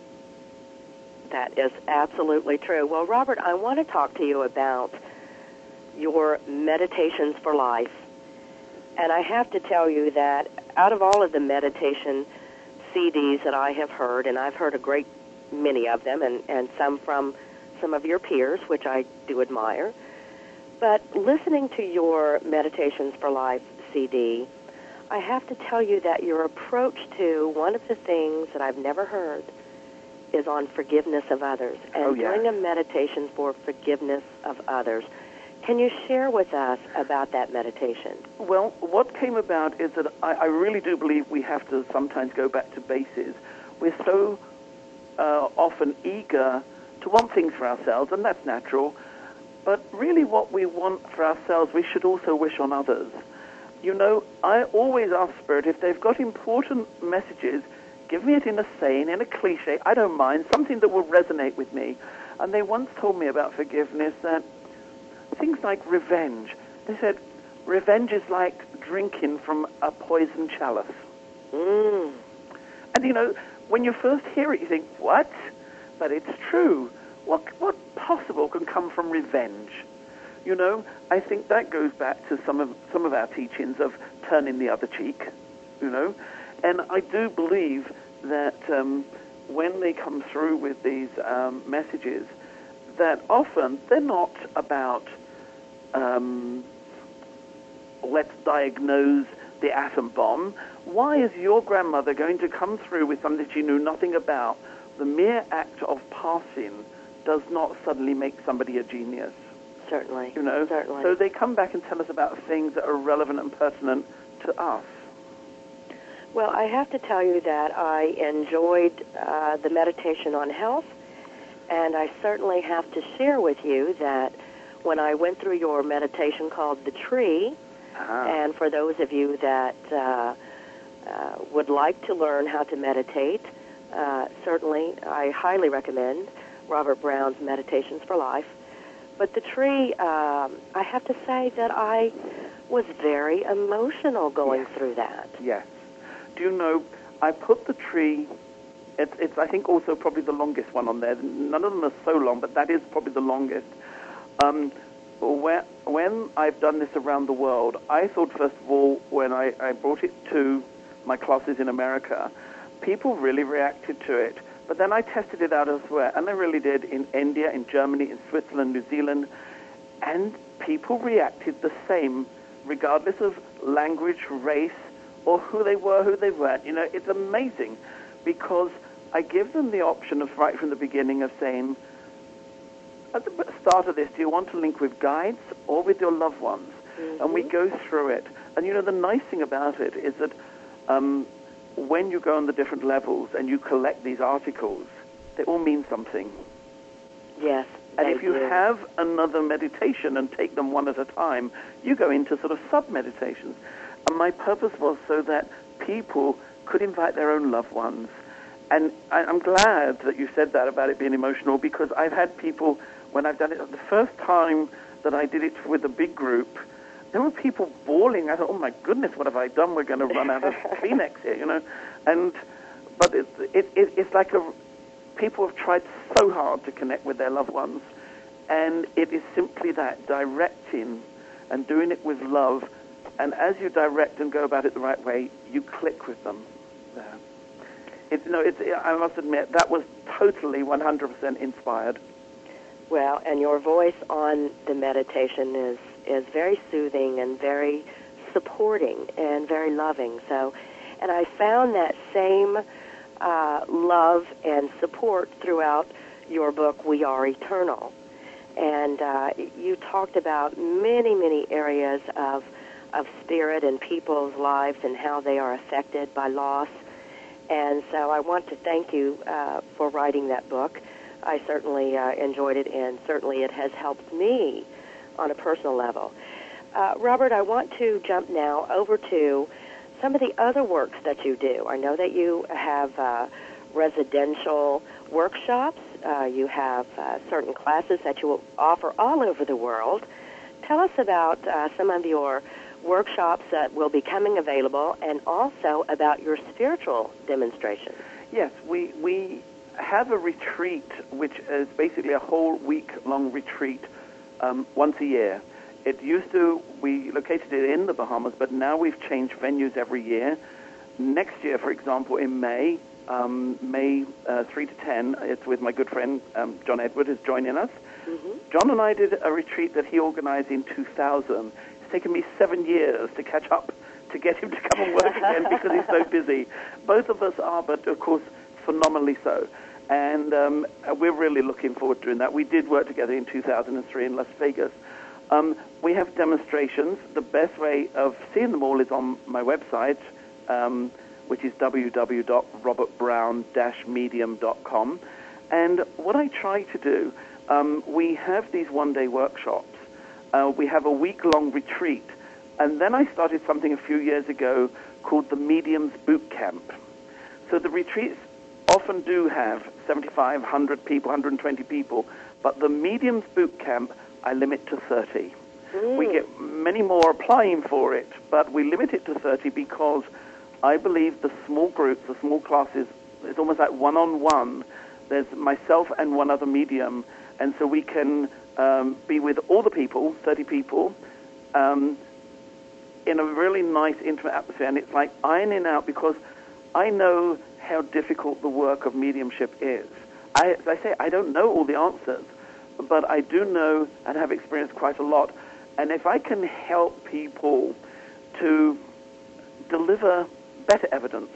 That is absolutely true. Well, Robert, I want to talk to you about your Meditations for Life. And I have to tell you that out of all of the meditation C Ds that I have heard, and I've heard a great many of them, and, and some from some of your peers, which I do admire, but listening to your Meditations for Life C D, I have to tell you that your approach to one of the things that I've never heard is on forgiveness of others, and Oh, yeah. doing a meditation for forgiveness of others. Can you share with us about that meditation? Well, what came about is that I, I really do believe we have to sometimes go back to bases. We're so uh, often eager to want things for ourselves, and that's natural. But really what we want for ourselves, we should also wish on others. You know, I always ask Spirit, if they've got important messages, give me it in a saying, in a cliche, I don't mind, something that will resonate with me. And they once told me about forgiveness that things like revenge. They said, revenge is like drinking from a poisoned chalice. Mm. And, you know, when you first hear it, you think, what? But it's true. What, what possible can come from revenge? You know, I think that goes back to some of some of our teachings of turning the other cheek, you know. And I do believe that um, when they come through with these um, messages, that often they're not about um, let's diagnose the atom bomb. Why is your grandmother going to come through with something she knew nothing about? The mere act of passing does not suddenly make somebody a genius. Certainly. You know, Certainly. so they come back and tell us about things that are relevant and pertinent to us. Well, I have to tell you that I enjoyed uh, the meditation on health, and I certainly have to share with you that when I went through your meditation called The Tree, Ah. and for those of you that uh, uh, would like to learn how to meditate, uh, certainly I highly recommend Robert Brown's Meditations for Life. But The Tree, um, I have to say that I was very emotional going Yes. through that. Yes. Do you know, I put The Tree, it's, it's I think also probably the longest one on there. None of them are so long, but that is probably the longest. Um, when, when I've done this around the world, I thought, first of all, when I, I brought it to my classes in America, people really reacted to it. But then I tested it out elsewhere, and I really did, in India, in Germany, in Switzerland, New Zealand, and people reacted the same, regardless of language, race, or who they were, who they weren't. You know, it's amazing, because I give them the option of right from the beginning of saying, at the start of this, do you want to link with guides or with your loved ones? Mm-hmm. And we go through it. And, you know, the nice thing about it is that um, when you go on the different levels and you collect these articles, they all mean something. Yes. And if you do. have another meditation and take them one at a time, you go into sort of sub-meditations. And my purpose was so that people could invite their own loved ones. And I, I'm glad that you said that about it being emotional, because I've had people, when I've done it, the first time that I did it with a big group, there were people bawling. I thought, oh my goodness, what have I done? We're going to run out of Kleenex here, you know. And but it, it, it, it's like a, people have tried so hard to connect with their loved ones, and it is simply that, directing and doing it with love. And as you direct and go about it the right way, you click with them there. It, no, it's, I must admit, that was totally one hundred percent inspired. Well, and your voice on the meditation is, is very soothing and very supporting and very loving. So, and I found that same uh, love and support throughout your book, We Are Eternal. And uh, you talked about many, many areas of of spirit and people's lives and how they are affected by loss. And so I want to thank you uh, for writing that book. I certainly uh, enjoyed it, and certainly it has helped me on a personal level. Uh, Robert, I want to jump now over to some of the other works that you do. I know that you have uh, residential workshops. Uh, you have uh, certain classes that you offer all over the world. Tell us about uh, some of your workshops that will be coming available, and also about your spiritual demonstrations. Yes, we we have a retreat, which is basically a whole week-long retreat um, once a year. It used to, we located it in the Bahamas, but now we've changed venues every year. Next year, for example, in May, um, May uh, three to ten, it's with my good friend um, John Edward is joining us. Mm-hmm. John and I did a retreat that he organized in two thousand. It's taken me seven years to catch up, to get him to come and work again because he's so busy. Both of us are, but of course, phenomenally so. And um, we're really looking forward to doing that. We did work together in two thousand three in Las Vegas. Um, we have demonstrations. The best way of seeing them all is on my website, um, which is w w w dot robert brown dash medium dot com. And what I try to do, um, we have these one-day workshops. Uh, we have a week-long retreat. And then I started something a few years ago called the Mediums Boot Camp. So the retreats often do have seventy-five, one hundred people, one hundred twenty people, but the Mediums Boot Camp I limit to thirty. Mm. We get many more applying for it, but we limit it to thirty because I believe the small groups, the small classes, it's almost like one-on-one. There's myself and one other medium, and so we can um, be with all the people, thirty people, um, in a really nice, intimate atmosphere. And it's like ironing out, because I know how difficult the work of mediumship is. I, as I say, I don't know all the answers, but I do know and have experienced quite a lot. And if I can help people to deliver better evidence,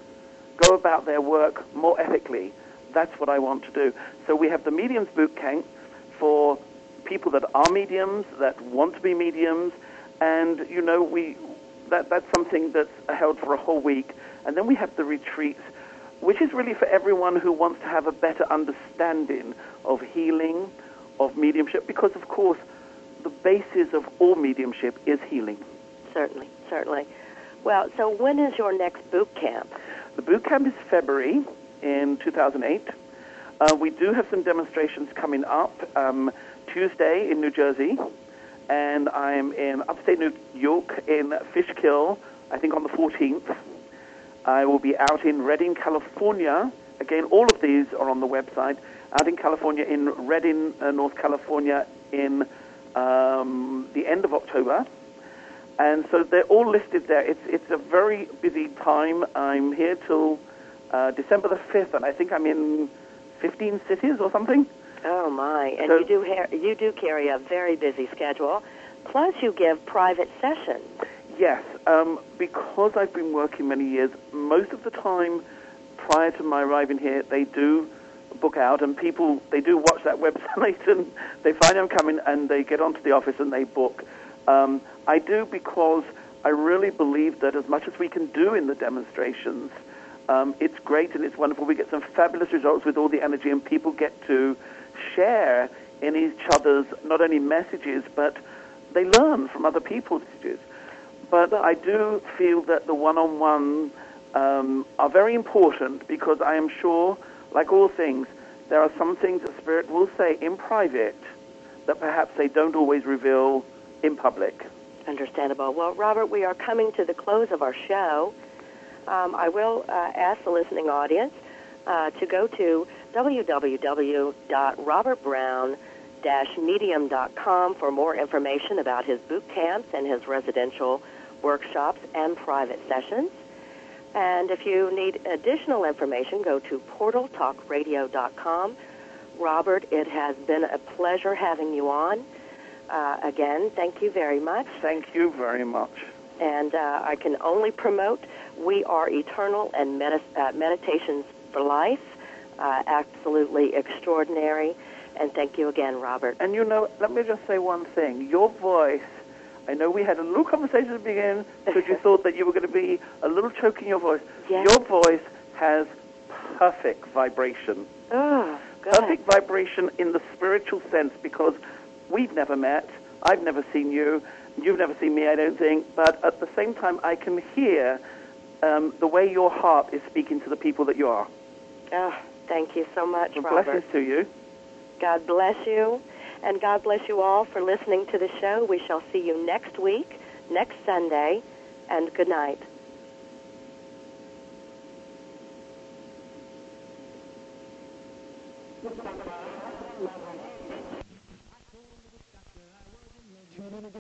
go about their work more ethically, that's what I want to do. So we have the Mediums Boot Camp for people that are mediums, that want to be mediums, and, you know, we that that's something that's held for a whole week. And then we have the retreats, which is really for everyone who wants to have a better understanding of healing, of mediumship, because, of course, the basis of all mediumship is healing. Certainly, certainly. Well, so when is your next boot camp? The boot camp is February in two thousand eight. Uh, we do have some demonstrations coming up. Um, Tuesday in New Jersey, and I'm in upstate New York in Fishkill, I think on the fourteenth. I will be out in Redding, California. Again, all of these are on the website. Out in California, in Redding, uh, North California, in um, the end of October. And so they're all listed there. It's it's a very busy time. I'm here till uh, December the fifth, and I think I'm in fifteen cities or something. Oh, my. And so, you do ha- you do carry a very busy schedule. Plus, you give private sessions. Yes. Um, because I've been working many years, most of the time prior to my arriving here, they do book out, and people, they do watch that website, and they find I'm coming, and they get onto the office, and they book. Um, I do because I really believe that as much as we can do in the demonstrations, um, it's great and it's wonderful. We get some fabulous results with all the energy, and people get to share in each other's not only messages, but they learn from other people's messages. But I do feel that the one-on-one um, are very important, because I am sure, like all things, there are some things that Spirit will say in private that perhaps they don't always reveal in public. Understandable. Well, Robert, we are coming to the close of our show. Um, I will uh, ask the listening audience uh, to go to w w w dot robert brown dash medium dot com for more information about his boot camps and his residential workshops and private sessions. And if you need additional information, go to portal talk radio dot com. Robert, it has been a pleasure having you on. Uh, again, thank you very much. Thank you very much. And uh, I can only promote We Are Eternal and Medi- uh, Meditations for Life. Uh, absolutely extraordinary. And thank you again, Robert. And you know, let me just say one thing. Your voice, I know we had a little conversation at the beginning because you thought that you were going to be a little choke in your voice. Yes. Your voice has perfect vibration. Oh, good. Perfect vibration in the spiritual sense, because we've never met. I've never seen you. You've never seen me, I don't think. But at the same time, I can hear um, the way your heart is speaking to the people that you are. Oh, thank you so much, And Robert. blessings to you. God bless you. And God bless you all for listening to the show. We shall see you next week, next Sunday, and good night. Thank you.